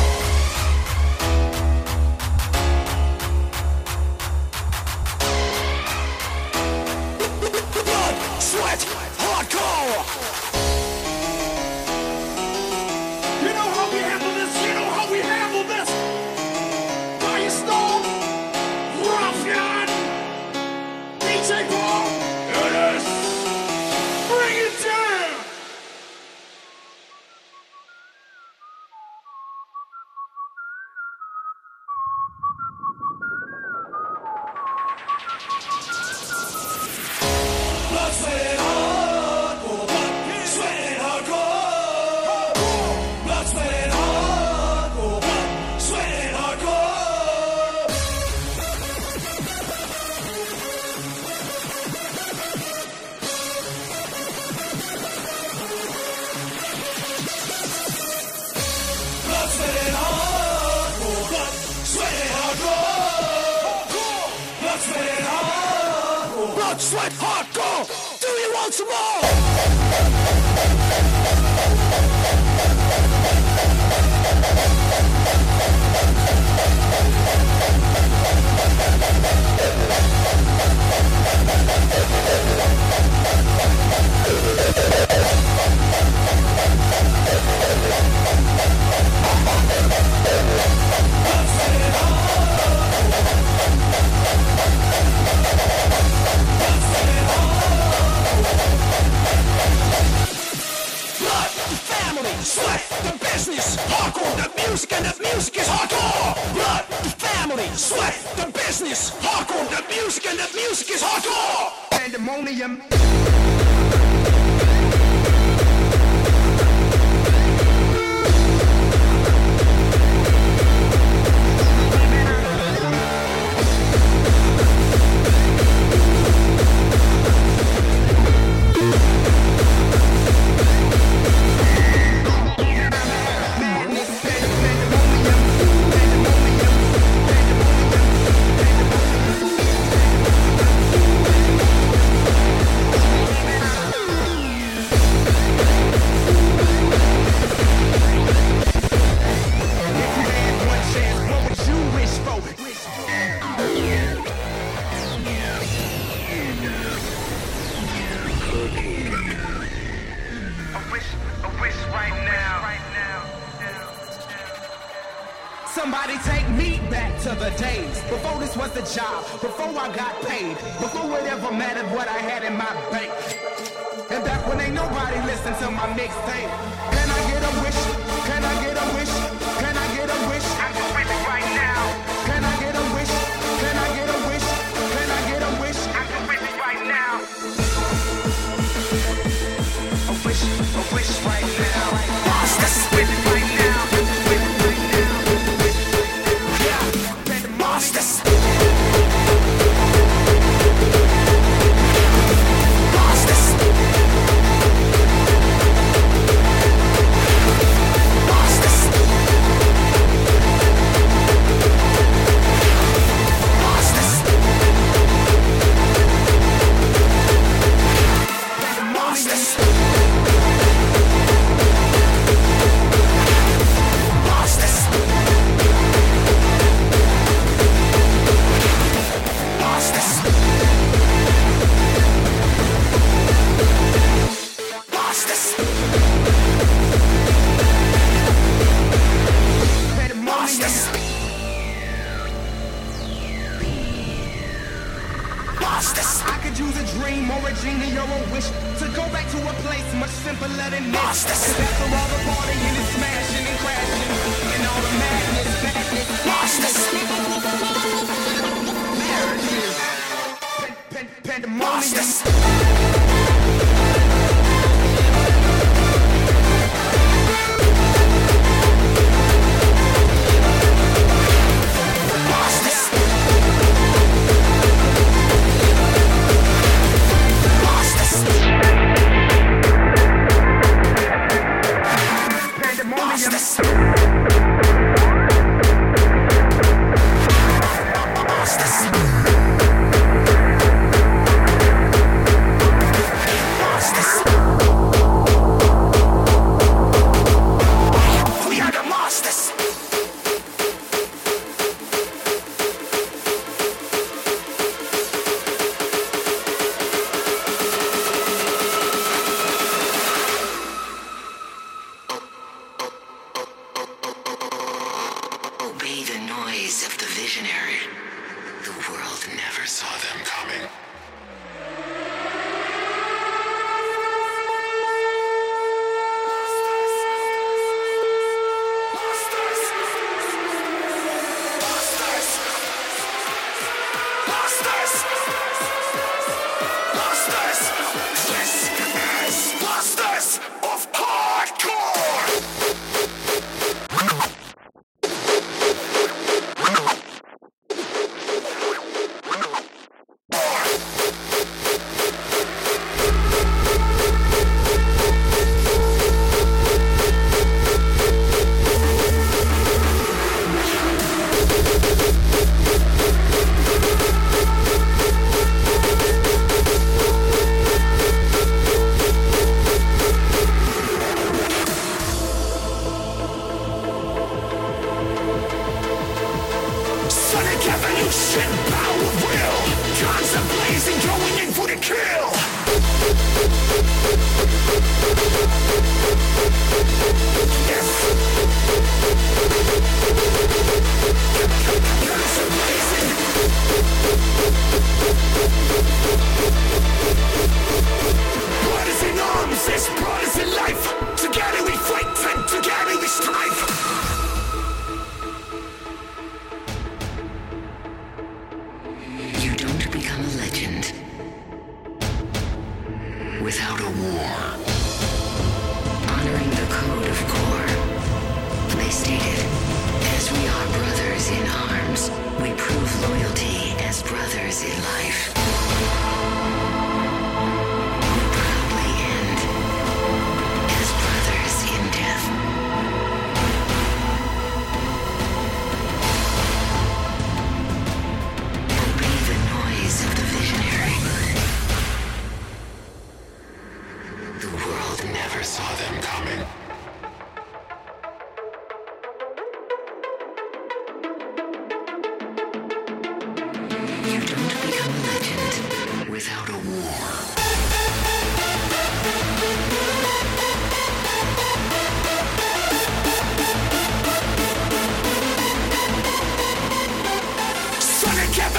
Blood, sweat, hardcore. You know how we handle this? You know how we handle this? Firestone, Ruffian, DJ Paul, yes. Bring it down. Blood, sweat, and hardcore. Blood, sweat, and hardcore. Blood, sweat, and hardcore. Blood, sweat, and hardcore. Blood, sweat, and hardcore. Blood, sweat, and hardcore. Blood, sweat, and hardcore. Blood, sweat, hardcore. Do you want some more? Blood, family, sweat, the business, hardcore, the music, and the music is hardcore. Blood, family, sweat, the business, hardcore, the music, and the music is hardcore. Pandemonium. Somebody take me back to the days before this was the job, before I got paid, before it ever mattered what I had in my bank. And back when ain't nobody listened to my mixtape. Can I get a wish? Can I get a wish? Can I get a wish? I'm gonna wish it right now. Can I get a wish? Can I get a wish? Can I get a wish? I'm gonna wish it right now. A wish right now. Let's wish it right now. I could use a dream or a genie or a wish to go back to a place much simpler than this. Cause after all the partying and smashing and crashing and all the madness,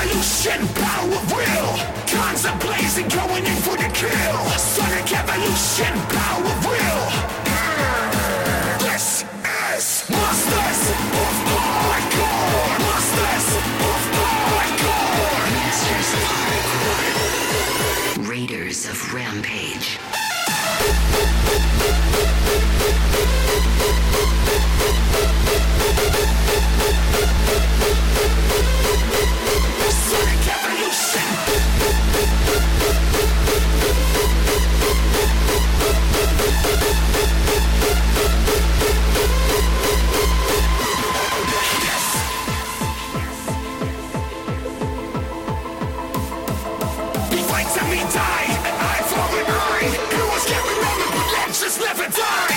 evolution, power of will. Guns are blazing, going in for the kill. Sonic evolution, power of will. This is Masters of Hardcore. Masters of Hardcore. Masters of Hardcore. Raiders of Rampage. Sonic evolution. We fight till we die, an eye for an eye. Heroes get remembered, but legends never die.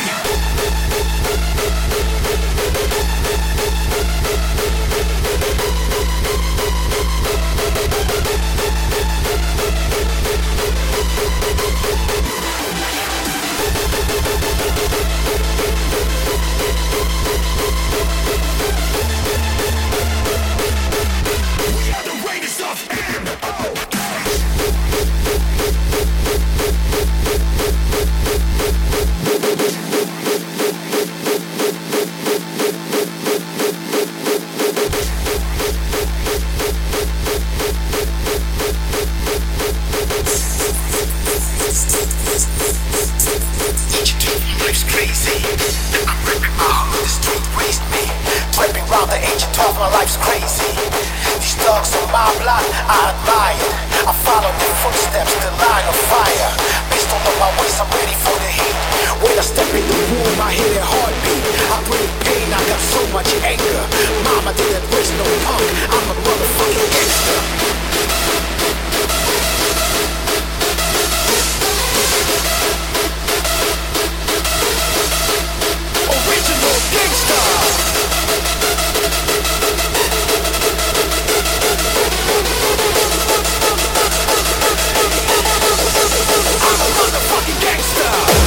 We are the Raiders of M.O.H. Life's crazy. I'm ripping my heart, the street raised me. Tripping round the age of 12, my life's crazy. These dogs on my block, I admire. I follow their footsteps, the line of fire. Based on my ways, I'm ready for the heat. When I step in the room, I hear their heartbeat. I bring pain, I got so much anger. Mama didn't raise no punk, I'm a motherfucking gangster. Original gangsta. I'm a motherfucking gangsta.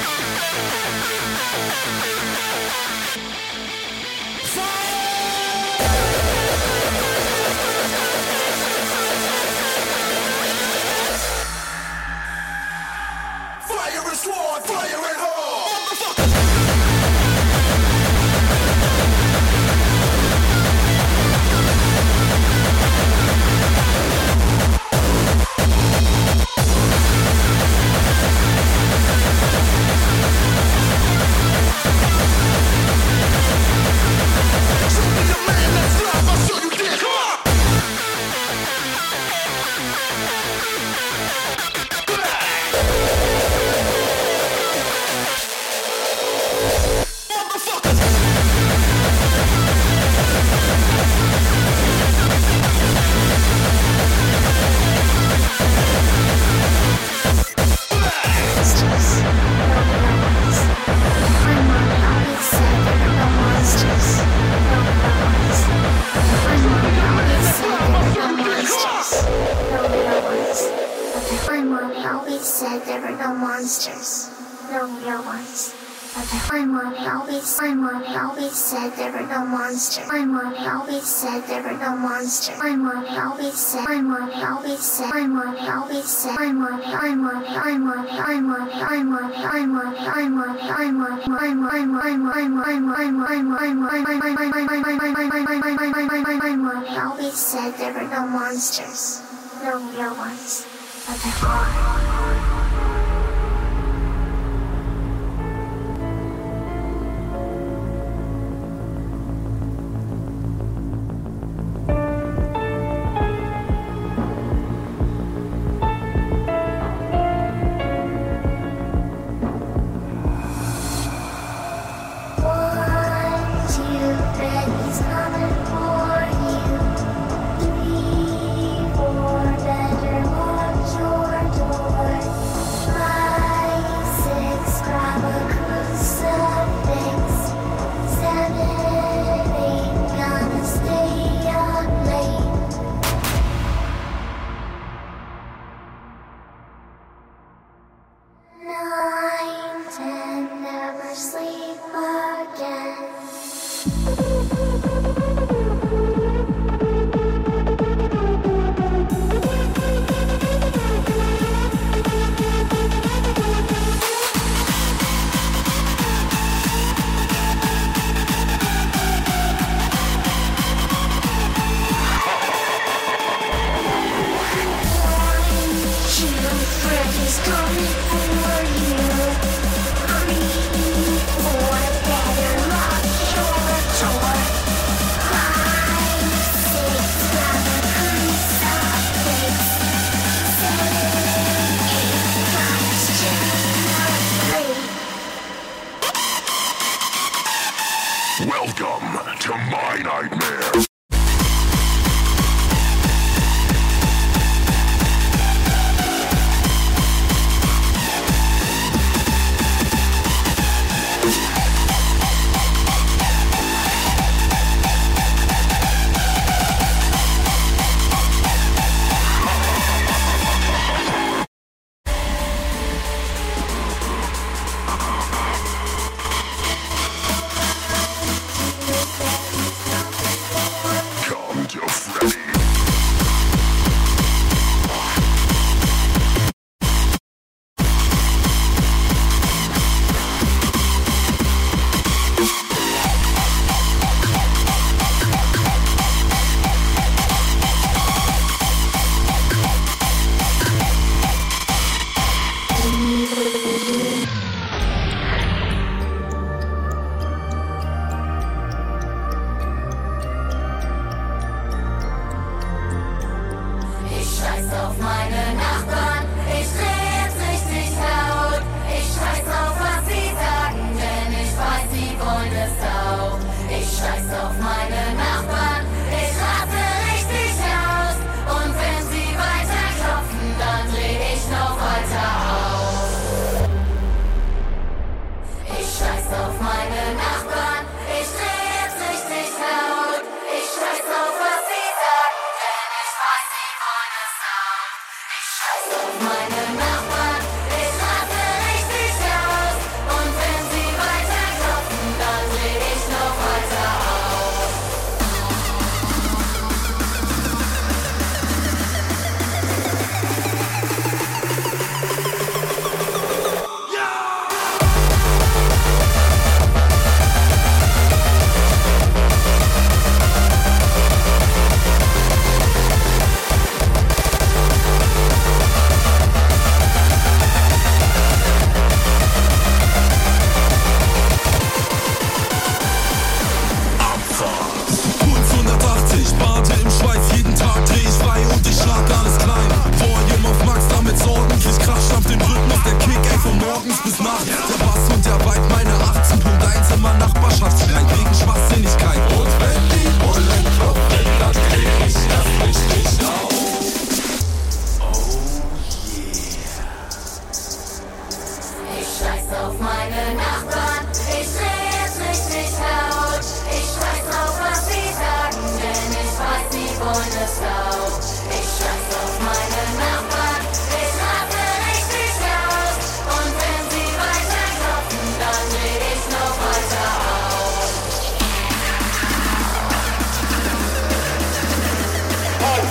Welcome to my nightmare.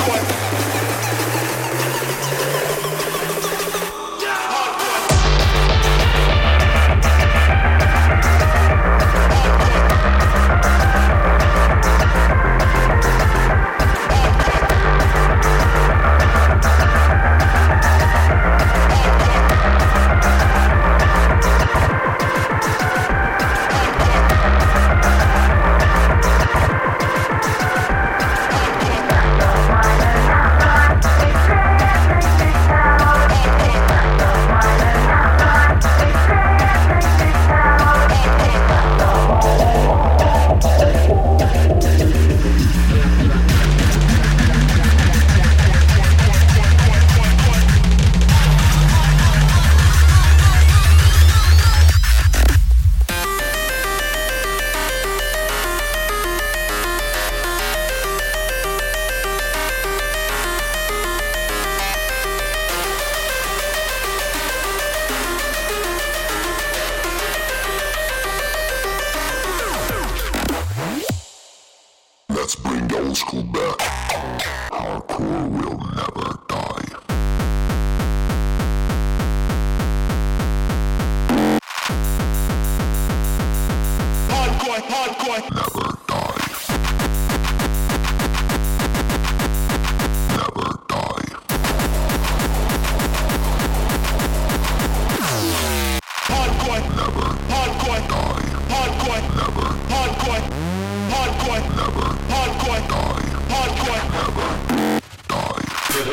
Let's bring the old school back. Our core will never die. Hardcore, hardcore. Never die. Never die. Hardcore, never. Hardcore, die. Hardcore, never. Hardcore, Hardcore, never. Hardcore, die. Hardcore, never. Die.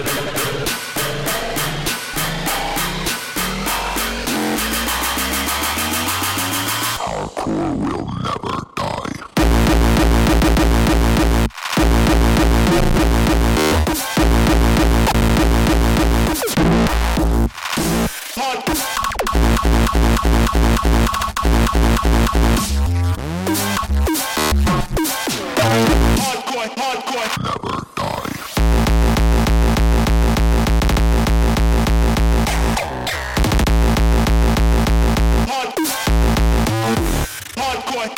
Our core will never die. Hardcore, hardcore, never die. Hardcore.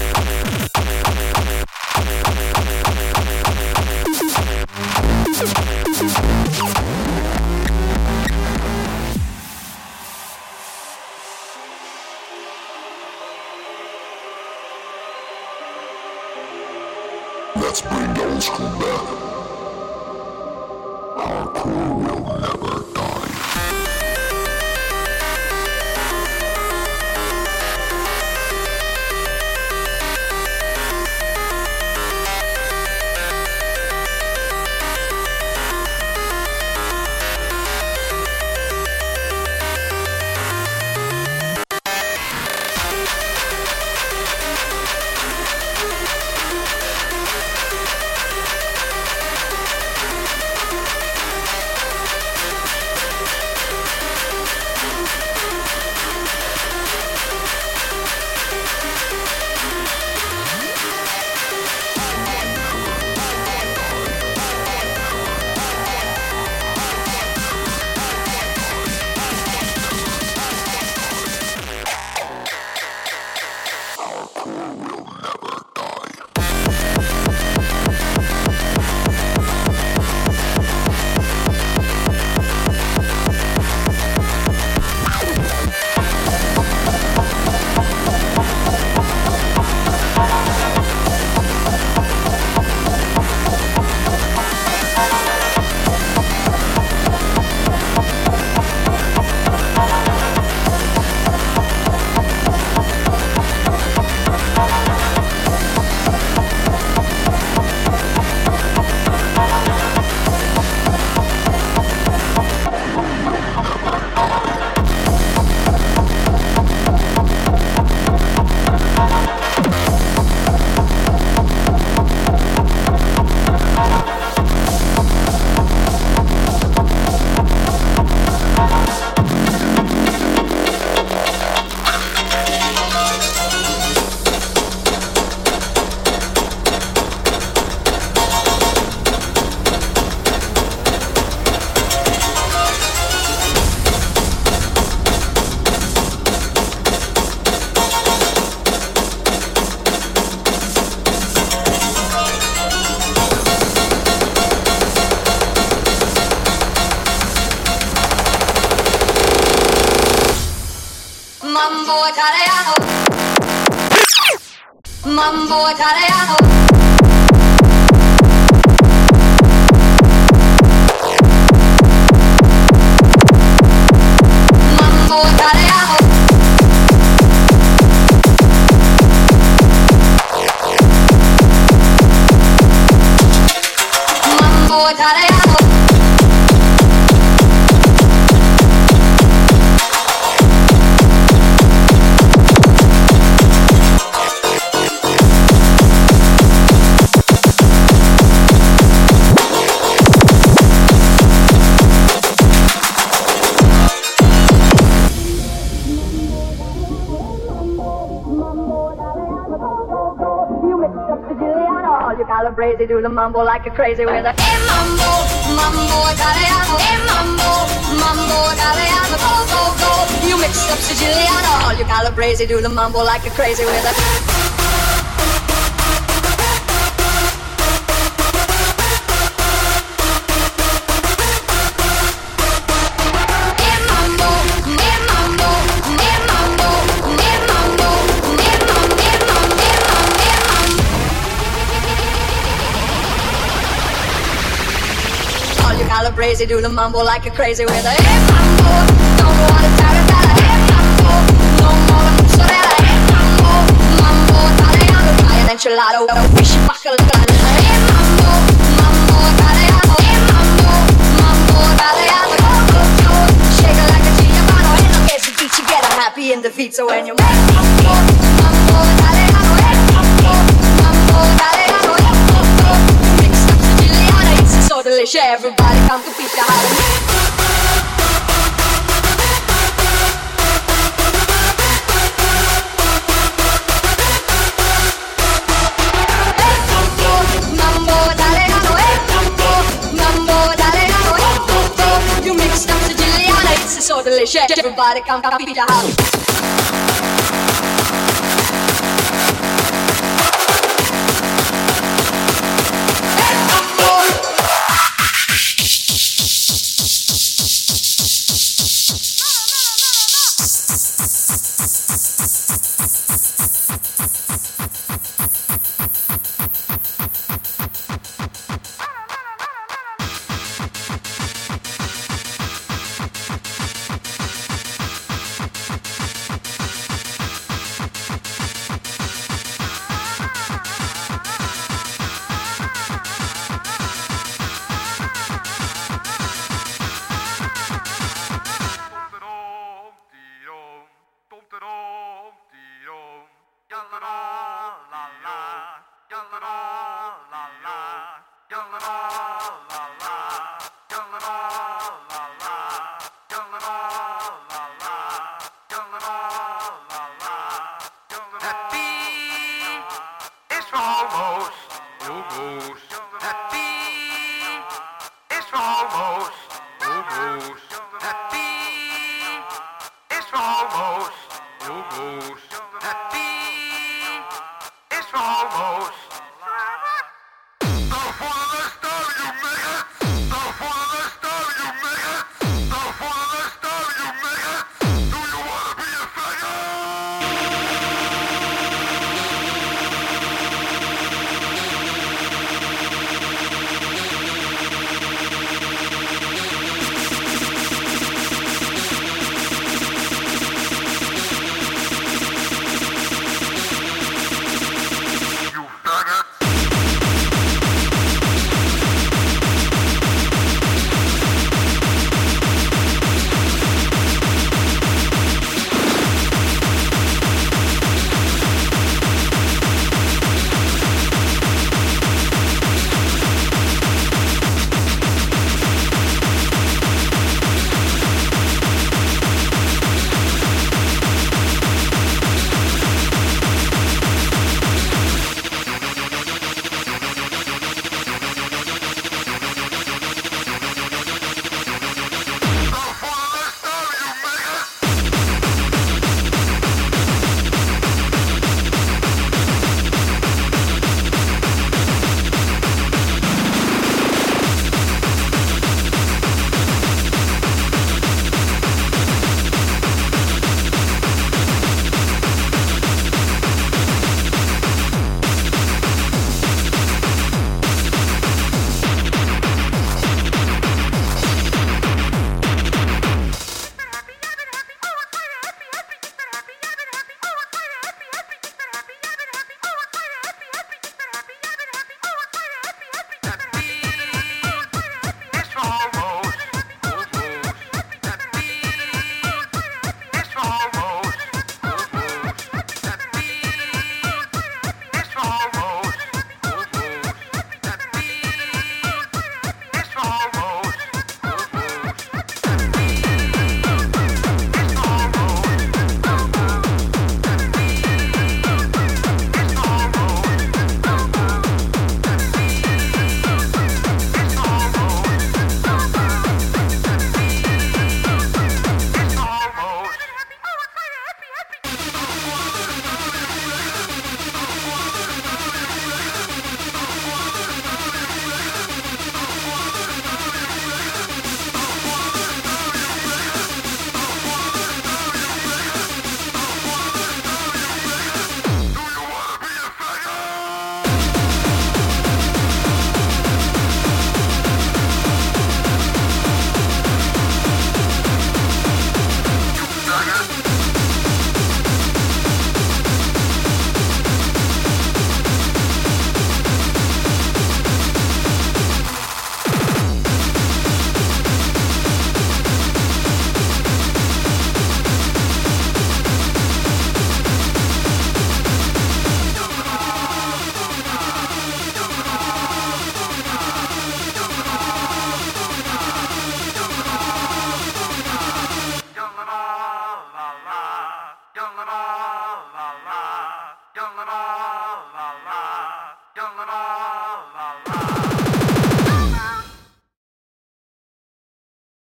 Let's bring the old school back. Our core will never die. Mambo Italiano. Mambo Italiano. Mambo Italiano. Mambo Italiano. Calabrese, do the mambo like a crazy with a hey mambo, mambo Italiano, hey mambo, mambo Italiano, go, go, go. You mix up Siciliano, all you Calabrese, do the mambo like a crazy with a Crazy, do the mambo like a crazy with a hey mambo, don't want to tarantella, hey mambo, no more mozzarella, hey mambo, mambo Italiano, try an enchilada, fishy bacalao, hey mambo, mambo Italiano, hey mambo, mambo Italiano, go, go, go, shake it like a Giovanni, and I'll get the beat, you get happy in the feet, so when you make mambo, mambo Italiano, hey mambo, mambo Italiano, go, go, go, mix up Siciliano, it's so delicious, everybody come to beat the house. Mambo Italiano, mambo Italiano, you mix up Siciliano, it's so delicious, everybody come to beat the house.